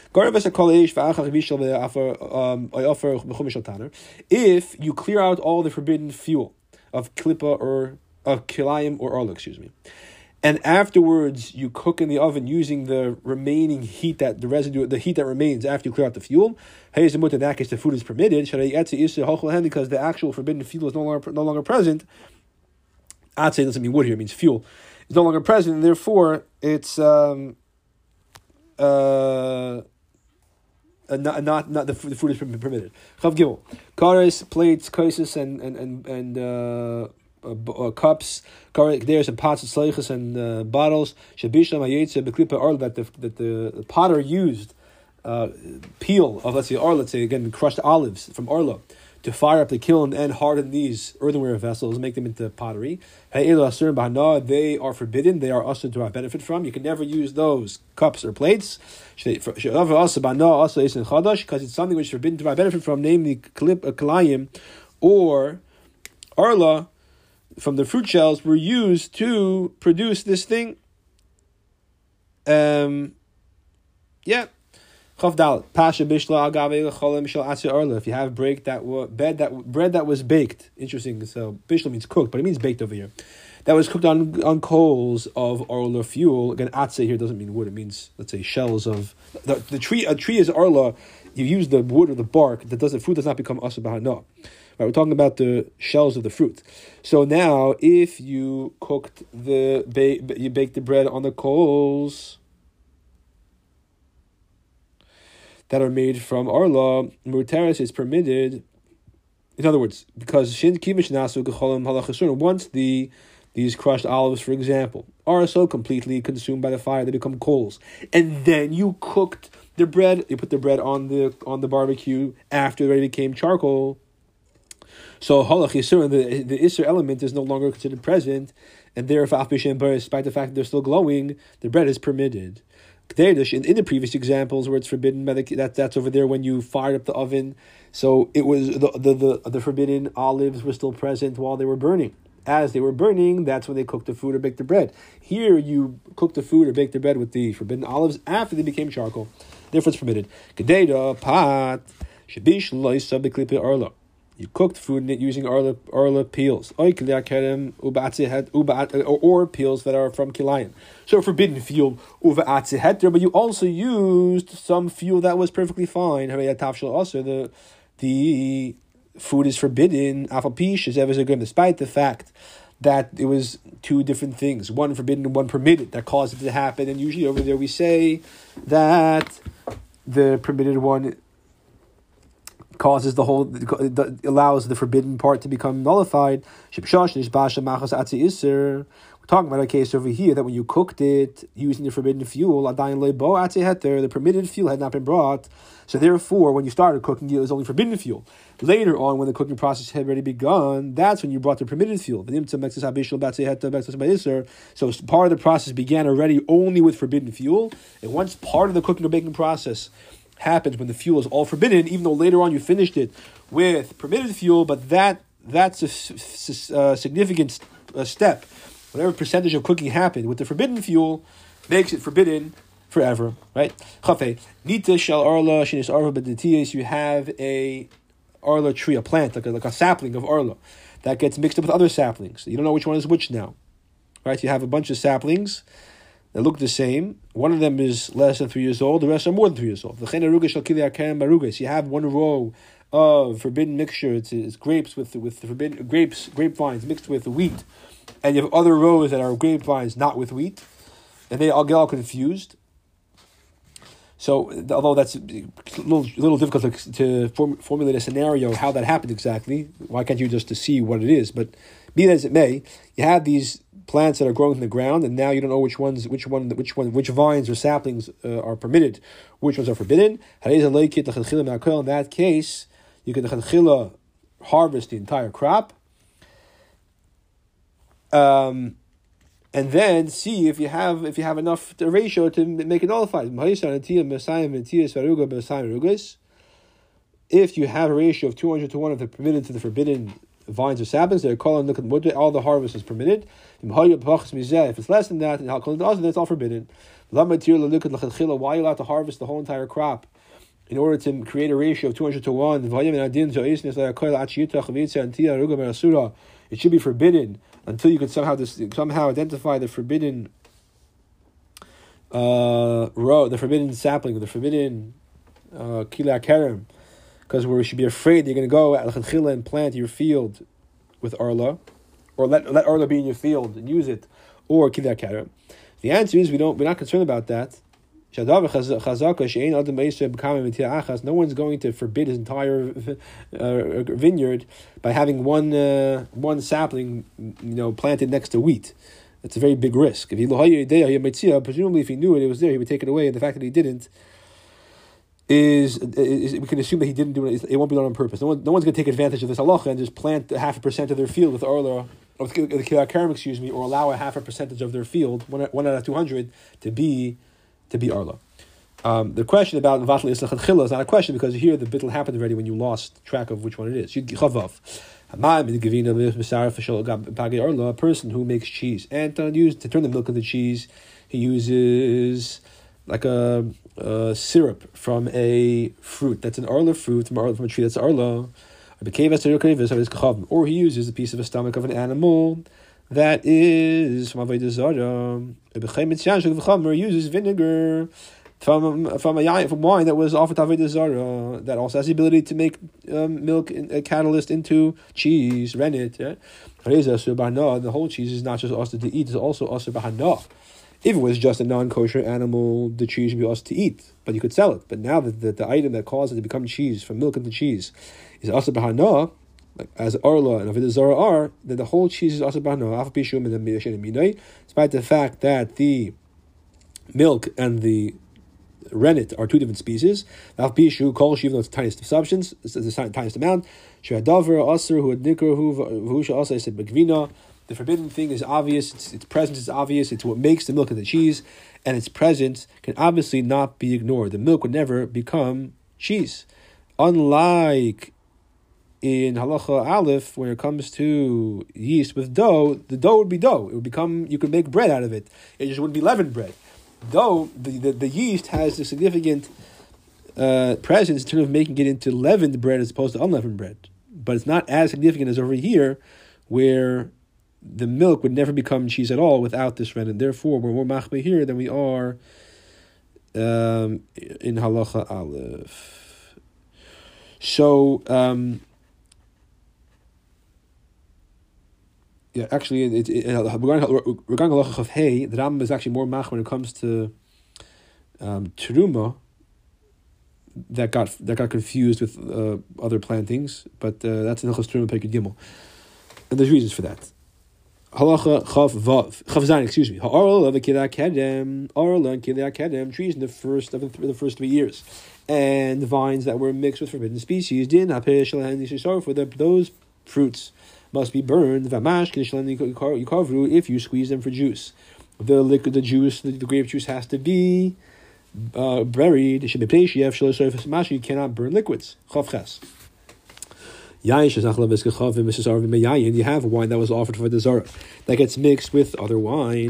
If you clear out all the forbidden fuel of klipa or of kilayim or arla, and afterwards you cook in the oven using the remaining heat, the heat that remains after you clear out the fuel, in that case the food is permitted because the actual forbidden fuel is no longer present. Atzeh doesn't mean wood here; it means fuel. It's no longer present, and therefore it's not the food is permitted. Chav Gimel, kares, plates, kaisis, and cups. There's some pots and sleichas and bottles. Shabishlam hayetze beklipa arla that the potter used peel of, let's say again crushed olives from arla to fire up the kiln and harden these earthenware vessels, make them into pottery. They are forbidden. They are also to benefit from. You can never use those cups or plates because it's something which is forbidden to benefit from, namely kalayim or arla from the fruit shells were used to produce this thing. Pasha bishla agave cholim shel atzi arla. If you have bread that was baked, interesting. So bishla means cooked, but it means baked over here. That was cooked on coals of arla fuel. Again, atzi here doesn't mean wood. It means, let's say, shells of the tree. A tree is arla. You use the wood or the bark. Fruit does not become asa b'hana. Right, we're talking about the shells of the fruit. So now, if you cooked you baked the bread on the coals that are made from arla, muteris is permitted. In other words, because once these crushed olives, for example, are so completely consumed by the fire, they become coals, and then you cooked the bread. You put the bread on the barbecue after it became charcoal. So halach yisurin, the isur element is no longer considered present, and therefore, despite the fact that they're still glowing, the bread is permitted. In the previous examples where it's forbidden by that's over there when you fired up the oven, so it was the forbidden olives were still present while they were burning. As they were burning, that's when they cooked the food or baked the bread. Here, you cook the food or bake the bread with the forbidden olives after they became charcoal. Therefore, it's permitted. You cooked food using arla peels, or peels that are from kilayim. So forbidden fuel, but you also used some fuel that was perfectly fine. Also, the food is forbidden, despite the fact that it was two different things, one forbidden and one permitted, that caused it to happen. And usually over there we say that the permitted one allows the forbidden part to become nullified. We're talking about a case over here that when you cooked it using the forbidden fuel, the permitted fuel had not been brought. So therefore, when you started cooking, it was only forbidden fuel. Later on, when the cooking process had already begun, that's when you brought the permitted fuel. So part of the process began already only with forbidden fuel. And once part of the cooking or baking process happens when the fuel is all forbidden, even though later on you finished it with permitted fuel, but that's a significant step. Whatever percentage of cooking happened with the forbidden fuel makes it forbidden forever, right? Nita shel arla shinis arva b'detias. You have a arla tree, a plant, like a sapling of arla that gets mixed up with other saplings. You don't know which one is which now, right? You have a bunch of saplings that look the same. One of them is less than 3 years old. The rest are more than 3 years old. You have one row of forbidden mixture. It's grapes with forbidden grapevines mixed with wheat, and you have other rows that are grapevines not with wheat, and they all get all confused. So, although that's a little difficult to formulate a scenario how that happened exactly, why can't you just to see what it is? But be that as it may, you have these plants that are growing in the ground, and now you don't know which vines or saplings are permitted, which ones are forbidden. In that case, you can harvest the entire crop, and then see if you have enough ratio to make it nullified. If you have a ratio of 200 to 1 of the permitted to the forbidden vines or saplings, they're calling all the harvest is permitted. If it's less than that, then it's all forbidden. Why are you allowed to harvest the whole entire crop in order to create a ratio of 200 to 1? It should be forbidden until you can somehow identify the forbidden row, the forbidden sapling, the forbidden kila kerem, because we should be afraid you're going to go at and plant your field with arla, or let arla be in your field and use it, or kila kerem. The answer is we're not concerned about that. No one's going to forbid his entire vineyard by having one sapling, planted next to wheat. It's a very big risk. Presumably, if he knew it was there, he would take it away. And the fact that he didn't is we can assume that he didn't do it. It won't be done on purpose. No one's going to take advantage of this halacha and just plant 0.5% of their field with arla, or the kilakarem, or allow 0.5% of their field, one out of 200, to be arla. The question about Vatal Islach and Chila is not a question, because here the bittul happened already when you lost track of which one it is. Chavav. A person who makes cheese and to turn the milk into cheese, he uses like a syrup from a fruit that's an arla fruit from a tree that's arla, or he uses a piece of a stomach of an animal that is from Avodah Zarah. Or uses vinegar from wine that was offered to Avodah Zarah, that also has the ability to make milk a catalyst into cheese, rennet. Yeah? The whole cheese is not just also to eat; it's also also bahana. If it was just a non-kosher animal, the cheese would be also to eat, but you could sell it. But now that the item that caused it to become cheese, from milk into cheese, is also bahana, like as arla and Avodah Zarah are, then the whole cheese is also bahana. Despite the fact that the milk and the rennet are two different species, even though it's the tiniest of substance, it's the tiniest amount. The forbidden thing is obvious, its presence is obvious, it's what makes the milk and the cheese, and its presence can obviously not be ignored. The milk would never become cheese. Unlike in halacha aleph, when it comes to yeast with dough, the dough would be dough. It would become, you could make bread out of it. It just wouldn't be leavened bread. Though the yeast has a significant presence in terms of making it into leavened bread as opposed to unleavened bread. But it's not as significant as over here, where the milk would never become cheese at all without this rennet. Therefore, we're more machmir here than we are in halacha aleph. So, actually, regarding halacha chav hey, the Rambam is actually more mach when it comes to teruma that got confused with other plantings, but that's in Hilchos Teruma Perek Gimel, and there's reasons for that. Halacha chav zayin, excuse me. Ha'arla v'kilei kedem, arla and kilei kedem, trees in the first 3 years, and the vines that were mixed with forbidden species. Din ha'peh shalahen yishisar, for those fruits must be burned. V'amash k'nishlan yikavru, if you squeeze them for juice. The liquid, the juice, the grape juice has to be buried. It should be pleishiev shalosh mash. You cannot burn liquids. Chav ches. You have a wine that was offered for the Zara that gets mixed with other wine.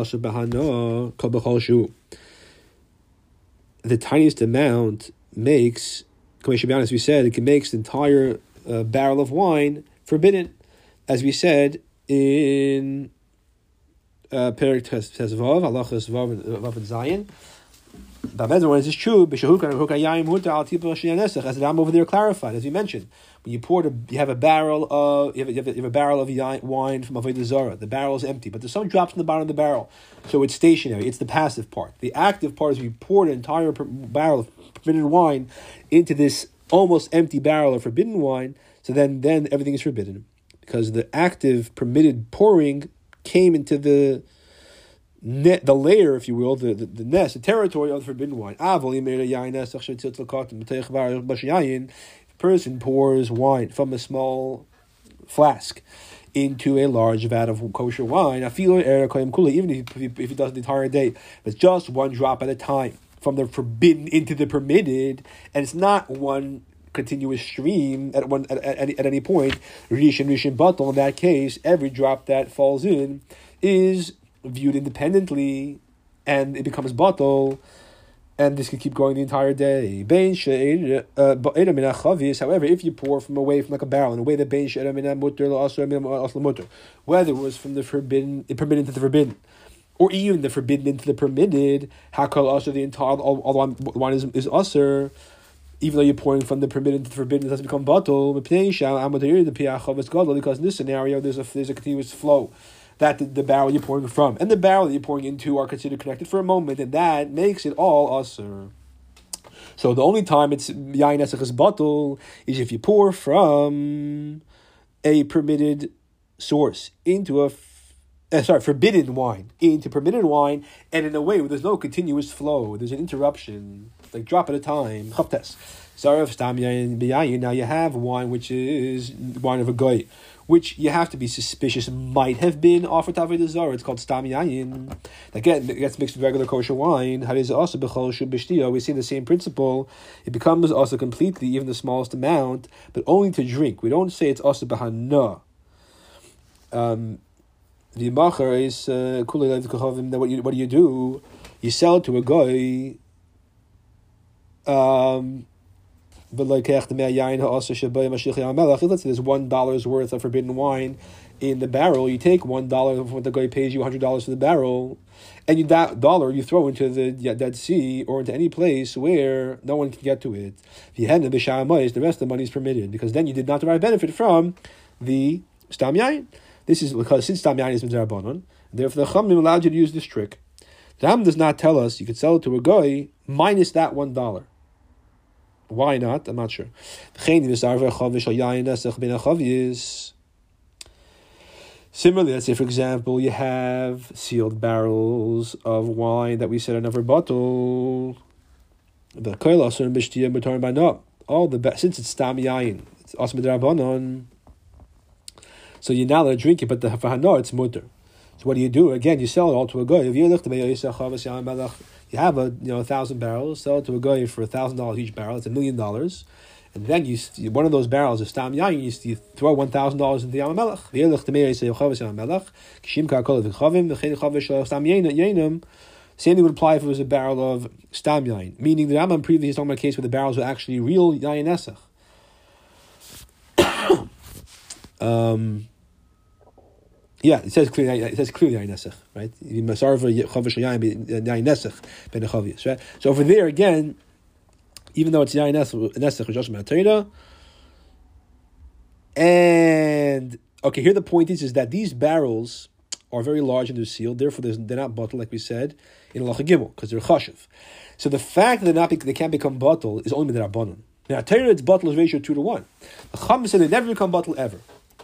The tiniest amount makes, as we said, it can make the entire barrel of wine forbidden, as we said in Perek Tes Vav, Halachas Vav and Zayin. when this is true, as the Ram over there clarified, as we mentioned, when you have a barrel of wine from Avodah Zarah. The barrel is empty, but there's some drops in the bottom of the barrel, so it's stationary. It's the passive part. The active part is we pour an entire barrel of forbidden wine into this almost empty barrel of forbidden wine. So then everything is forbidden because the active permitted pouring came into the layer, if you will, the nest, the territory of the forbidden wine. If a person pours wine from a small flask into a large vat of kosher wine, even if he does it the entire day, but just one drop at a time, from the forbidden into the permitted, and it's not one continuous stream at any point. Rishon batal. In that case, every drop that falls in is viewed independently, and it becomes batal, and this can keep going the entire day. However, if you pour from away from like a barrel in a way that whether it was from the forbidden, permitted into the forbidden, or even the forbidden into the permitted, the entire all the wine is usher, even though you're pouring from the permitted into the forbidden, it doesn't become batal. Because in this scenario, there's a continuous flow that the barrel you're pouring from and the barrel that you're pouring into are considered connected for a moment, and that makes it all usher. So the only time it's yain nesach is batal is if you pour from a permitted source into forbidden wine into permitted wine, and in a way where there's no continuous flow, there's an interruption, like drop at a time. Chavtes. Now you have wine which is wine of a goy, which you have to be suspicious might have been offered to Avodah Zarah. It's called stam yayin. Again, it gets mixed with regular kosher wine. We see the same principle. It becomes also completely, even the smallest amount, but only to drink. We don't say it's also b'hana. The macher is what do you do? You sell it to a guy. Let's say there's $1 worth of forbidden wine in the barrel. You take $1 of what the guy pays you $100 for the barrel, and that dollar you throw into the Dead Sea or into any place where no one can get to it. The rest of the money is permitted, because then you did not derive benefit from the stam yayin. This is because since stam yayin is mitzvah, therefore the Chachamim allowed you to use this trick. The Ram does not tell us you could sell it to a guy minus that $1. Why not? I'm not sure. Similarly, let's say, for example, you have sealed barrels of wine that we said are never bottled. Since it's stam yayin, it's also midrabanon, so you're not allowed to drink it, but the hafahana, it's mutter. So what do? Again, you sell it all to a guy. If you have 1,000 barrels, sell it to a guy for $1,000 each barrel. It's $1 million, and then you one of those barrels of stam yayin, you throw $1,000 into the Yam Melech. Same thing would apply if it was a barrel of stam yayin, meaning the Rambam previously is talking about a case where the barrels were actually real yayin nesach. Yeah, it says clearly yayin nesach, right? Right? So over there again, even though it's yayin nesach, it's just Torah. And okay, here the point is that these barrels are very large and they're sealed, therefore they're not bottled, like we said in Halacha Gimel, because they're chashiv. So the fact that they can't become bottled is only midrabanan. Now Torah, its bottle is ratio 2-1. The Chachamim said they never become bottled ever.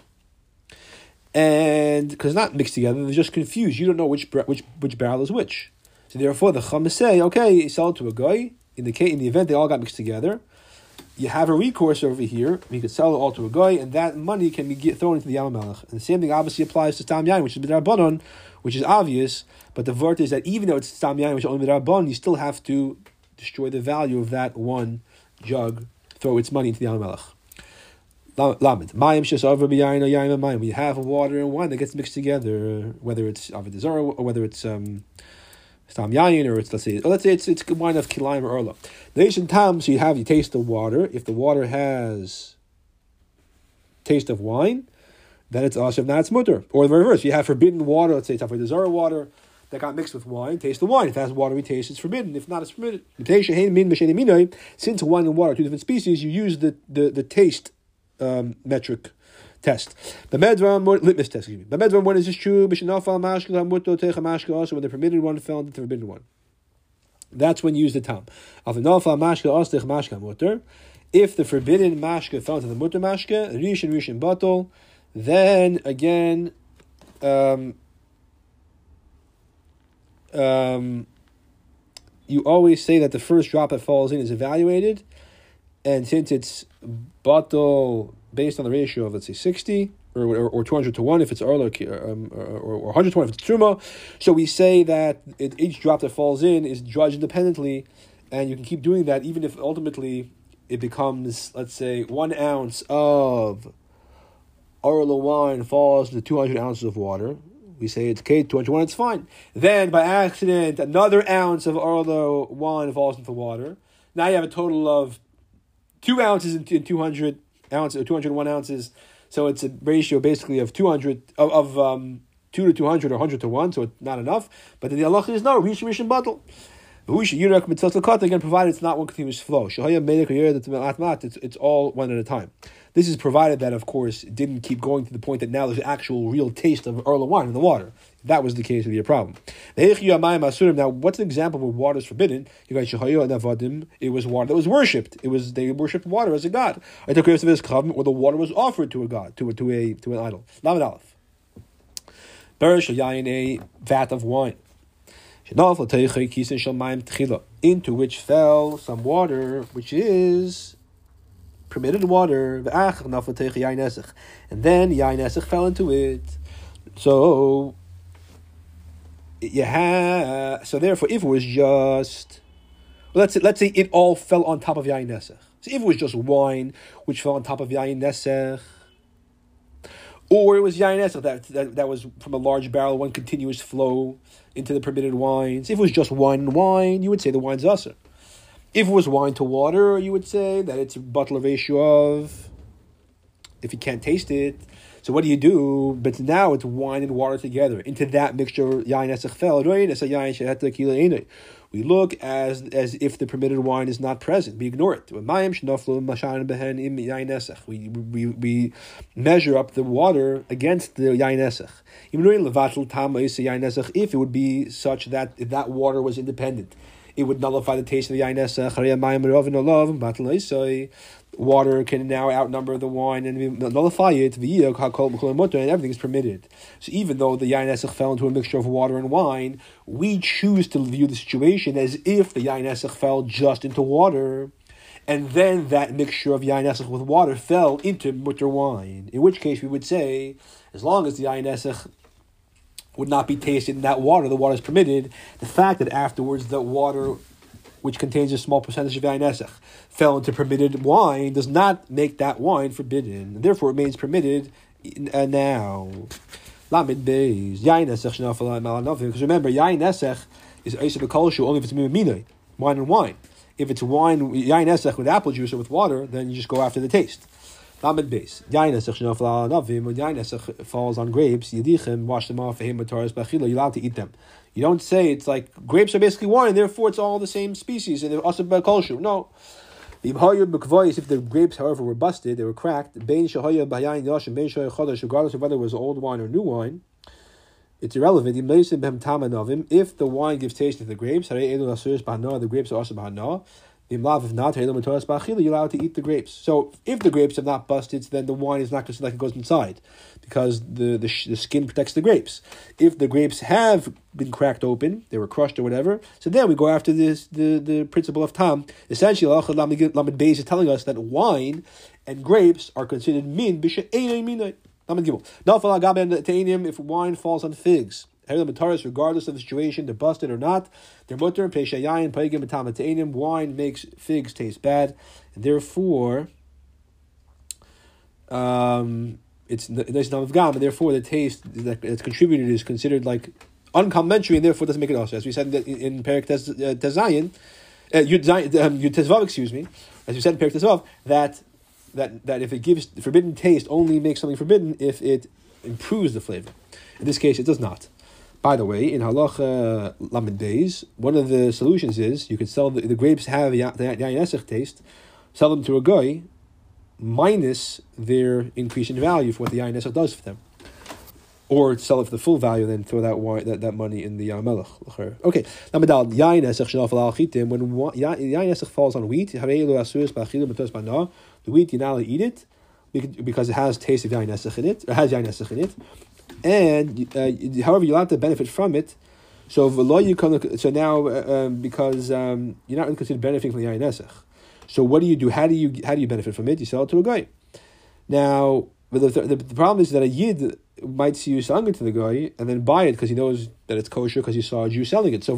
And because not mixed together, they're just confused. You don't know which barrel is which. So therefore, the Chachamim say, okay, you sell it to a guy. In the event they all got mixed together, you have a recourse over here. You could sell it all to a guy, and that money can be thrown into the Yam Melech. And the same thing obviously applies to stam yayin, which is midrabanan, which is obvious. But the vert is that even though it's stam yayin, which is only midrabanan, you still have to destroy the value of that one jug, throw its money into the Yam Melech. Lamed. Mayim shesavar b'yayin or yayin mayim. We have water and wine that gets mixed together, whether it's Avodah Zarah or whether it's stam yayin, or let's say it's wine of kilayim or erla. Nation tam. So you taste the water. If the water has taste of wine, then it's ashav. Now it's mutter. Or the reverse. You have forbidden water. Let's say it's Avodah Zarah water. that got mixed with wine, taste the wine. If it has watery taste, it's forbidden. If not, it's permitted. Since wine and water are two different species, you use the taste metric test. The litmus test, excuse me. The medvan, when is this true? Also, when the permitted one fell into the forbidden one. That's when you use the tam. If the forbidden mashka fell into the mutter mashka, rishon batal, then again, you always say that the first drop that falls in is evaluated, and since it's batal based on the ratio of, let's say, 60 or 200 to 1 if it's arla, or 100 to 1 if it's truma, so we say that each drop that falls in is judged independently, and you can keep doing that even if ultimately it becomes, let's say, 1 ounce of arla wine falls into 200 ounces of water. We say it's okay, 201, it's fine. Then, by accident, another ounce of arla wine falls into water. Now you have a total of 2 ounces in 200 ounces, or 201 ounces. So it's a ratio basically of 200 of 2 to 200 or 100 to 1. So it's not enough. But then the halacha is no rishon batal. Again, provided it's not one continuous flow. It's all one at a time. This is provided that, of course, it didn't keep going to the point that now there's actual real taste of arla wine in the water. If that was the case, it would be a problem. Now, what's an example where water is forbidden? It was water that was worshipped. They worshipped water as a god. Or the water was offered to a god, to an idol. Lamed Aleph. Berish a vat of wine, into which fell some water, which is permitted water, and then yain esech fell into it. So therefore, if it was just, let's say it all fell on top of yain esech. So if it was just wine which fell on top of yain esech, or it was yain esech that was from a large barrel, one continuous flow into the permitted wines. If it was just wine and wine, you would say the wine's usher. If it was wine to water, you would say that it's a butler ratio of, if you can't taste it. So what do you do? But now it's wine and water together. Into that mixture, yain esech fell. We look as if the permitted wine is not present. We ignore it. We measure up the water against the yain esech. If it would be such that if that water was independent, it would nullify the taste of the yain esech. Water can now outnumber the wine and nullify it, and everything is permitted. So even though the yain esech fell into a mixture of water and wine, we choose to view the situation as if the yain esech fell just into water, and then that mixture of yain esech with water fell into mutter wine. In which case we would say, as long as the yain esech would not be tasted in that water, the water is permitted. The fact that afterwards the water, which contains a small percentage of yain esech, fell into permitted wine, does not make that wine forbidden. And therefore, it remains permitted now. Lamed beis yain esech shenafal malanovim. Because remember, yain esech is eisa b'kolshu only if it's minoi, wine and wine. If it's wine, yain esech with apple juice or with water, then you just go after the taste. Lamed beis yain esech shenafal malanovim. When yain esech falls on grapes, yedichem, wash them off. V'hem b'taras b'achila. You're allowed to eat them. You don't say it's like grapes are basically wine, therefore it's all the same species and they're also b'kolshu. No. If the grapes, however, were busted, they were cracked, regardless of whether it was old wine or new wine, it's irrelevant. If the wine gives taste to the grapes, the grapes are also b'hana. If not, you're allowed to eat the grapes. So if the grapes have not busted, then the wine is not considered like it goes inside, because the skin protects the grapes. If the grapes have been cracked open, they were crushed or whatever, so then we go after the principle of tam. Essentially, Lamed Beis is telling us that wine and grapes are considered min b'she'enei minai. Lamed Gimel. If wine falls on figs, regardless of the situation, they're busted or not, they're mutter, wine makes figs taste bad, and therefore it's not gam, and therefore the taste that's contributed is considered like uncomplimentary, and therefore doesn't make it also. As we said in Perek Tezayin, Yud Tezvav, excuse me, as we said in Perek Tezvav, that if it gives forbidden taste, only makes something forbidden if it improves the flavor. In this case, it does not. By the way, in halacha lamed beis, one of the solutions is you could sell the grapes have the yayin esech taste, sell them to a guy, minus their increase in value for what the yayin esech does for them, or sell it for the full value, then throw that money in the melech. Okay, lamed yayin esech shenafal al chitim. When yayin esech falls on wheat, the wheat you're not allowed to eat it because it has taste of yayin esech in it, or has yayin esech in it. And however, you're allowed to benefit from it. So now because you're not really considered benefiting from the yayin esech. So what do you do? How do you benefit from it? You sell it to a guy. Now, but the problem is that a yid might see you selling it to the guy and then buy it because he knows that it's kosher because he saw a Jew selling it. So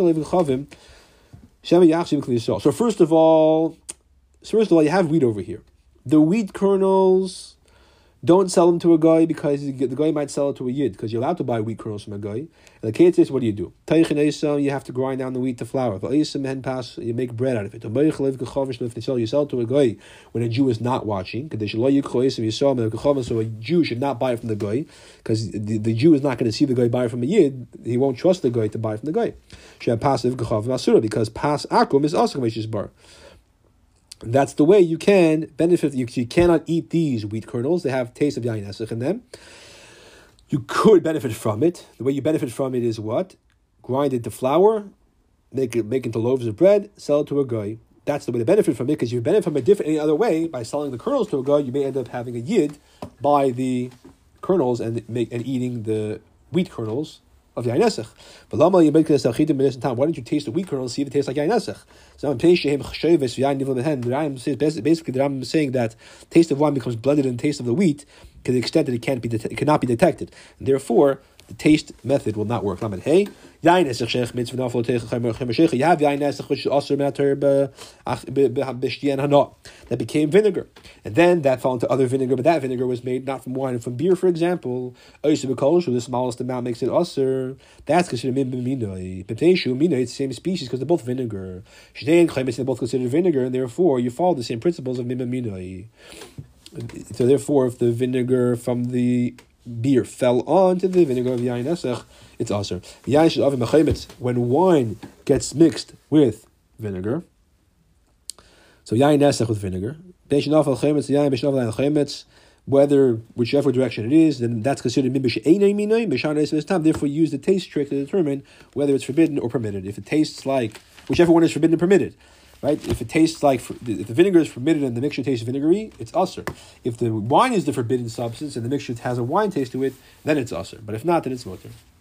first of all, you have wheat over here. The wheat kernels. Don't sell them to a guy because the guy might sell it to a yid because you're allowed to buy wheat kernels from a guy. And the case is, what do? You have to grind down the wheat to flour. You make bread out of it. You sell it to a guy when a Jew is not watching. So a Jew should not buy it from the guy because the Jew is not going to see the guy buy it from a yid. He won't trust the guy to buy it from the guy. Because pas akum is also bar. That's the way you can benefit. You cannot eat these wheat kernels. They have taste of yayin esech in them. You could benefit from it. The way you benefit from it is what? Grind it to flour, make into loaves of bread, sell it to a guy. That's the way to benefit from it, because you benefit from it any other way. By selling the kernels to a guy, you may end up having a yid buy the kernels and eating the wheat kernels of yayin esech. But why don't you taste the wheat kernels and see if it tastes like yayin esech? So basically, the Rambam is saying that taste of wine becomes blended in the taste of the wheat to the extent that it cannot be detected, and therefore the taste method will not work. Lamed hey, yayin esech shech mitzvah nafal teichem chemer. You have yayin esech which is also matter b'shtiyan hana that became vinegar, and then that fell into other vinegar, but that vinegar was made not from wine and from beer, for example. Oiseh b'kol, the smallest amount makes it aser. That's considered min b'minoi. B'pteishu minoi, it's the same species because they're both vinegar. Shnei and chayim, they're both considered vinegar, and therefore you follow the same principles of min b'minoi. So therefore, if the vinegar from the beer fell onto the vinegar of yayin esech, it's aser. When wine gets mixed with vinegar, so yayin esech with vinegar, whichever direction it is, then that's considered mibish einay minay. Therefore, use the taste trick to determine whether it's forbidden or permitted. If it tastes like whichever one is forbidden or permitted. Right? If it tastes like, if the vinegar is forbidden and the mixture tastes vinegary, it's aser. If the wine is the forbidden substance and the mixture has a wine taste to it, then it's aser. But if not, then it's mutter.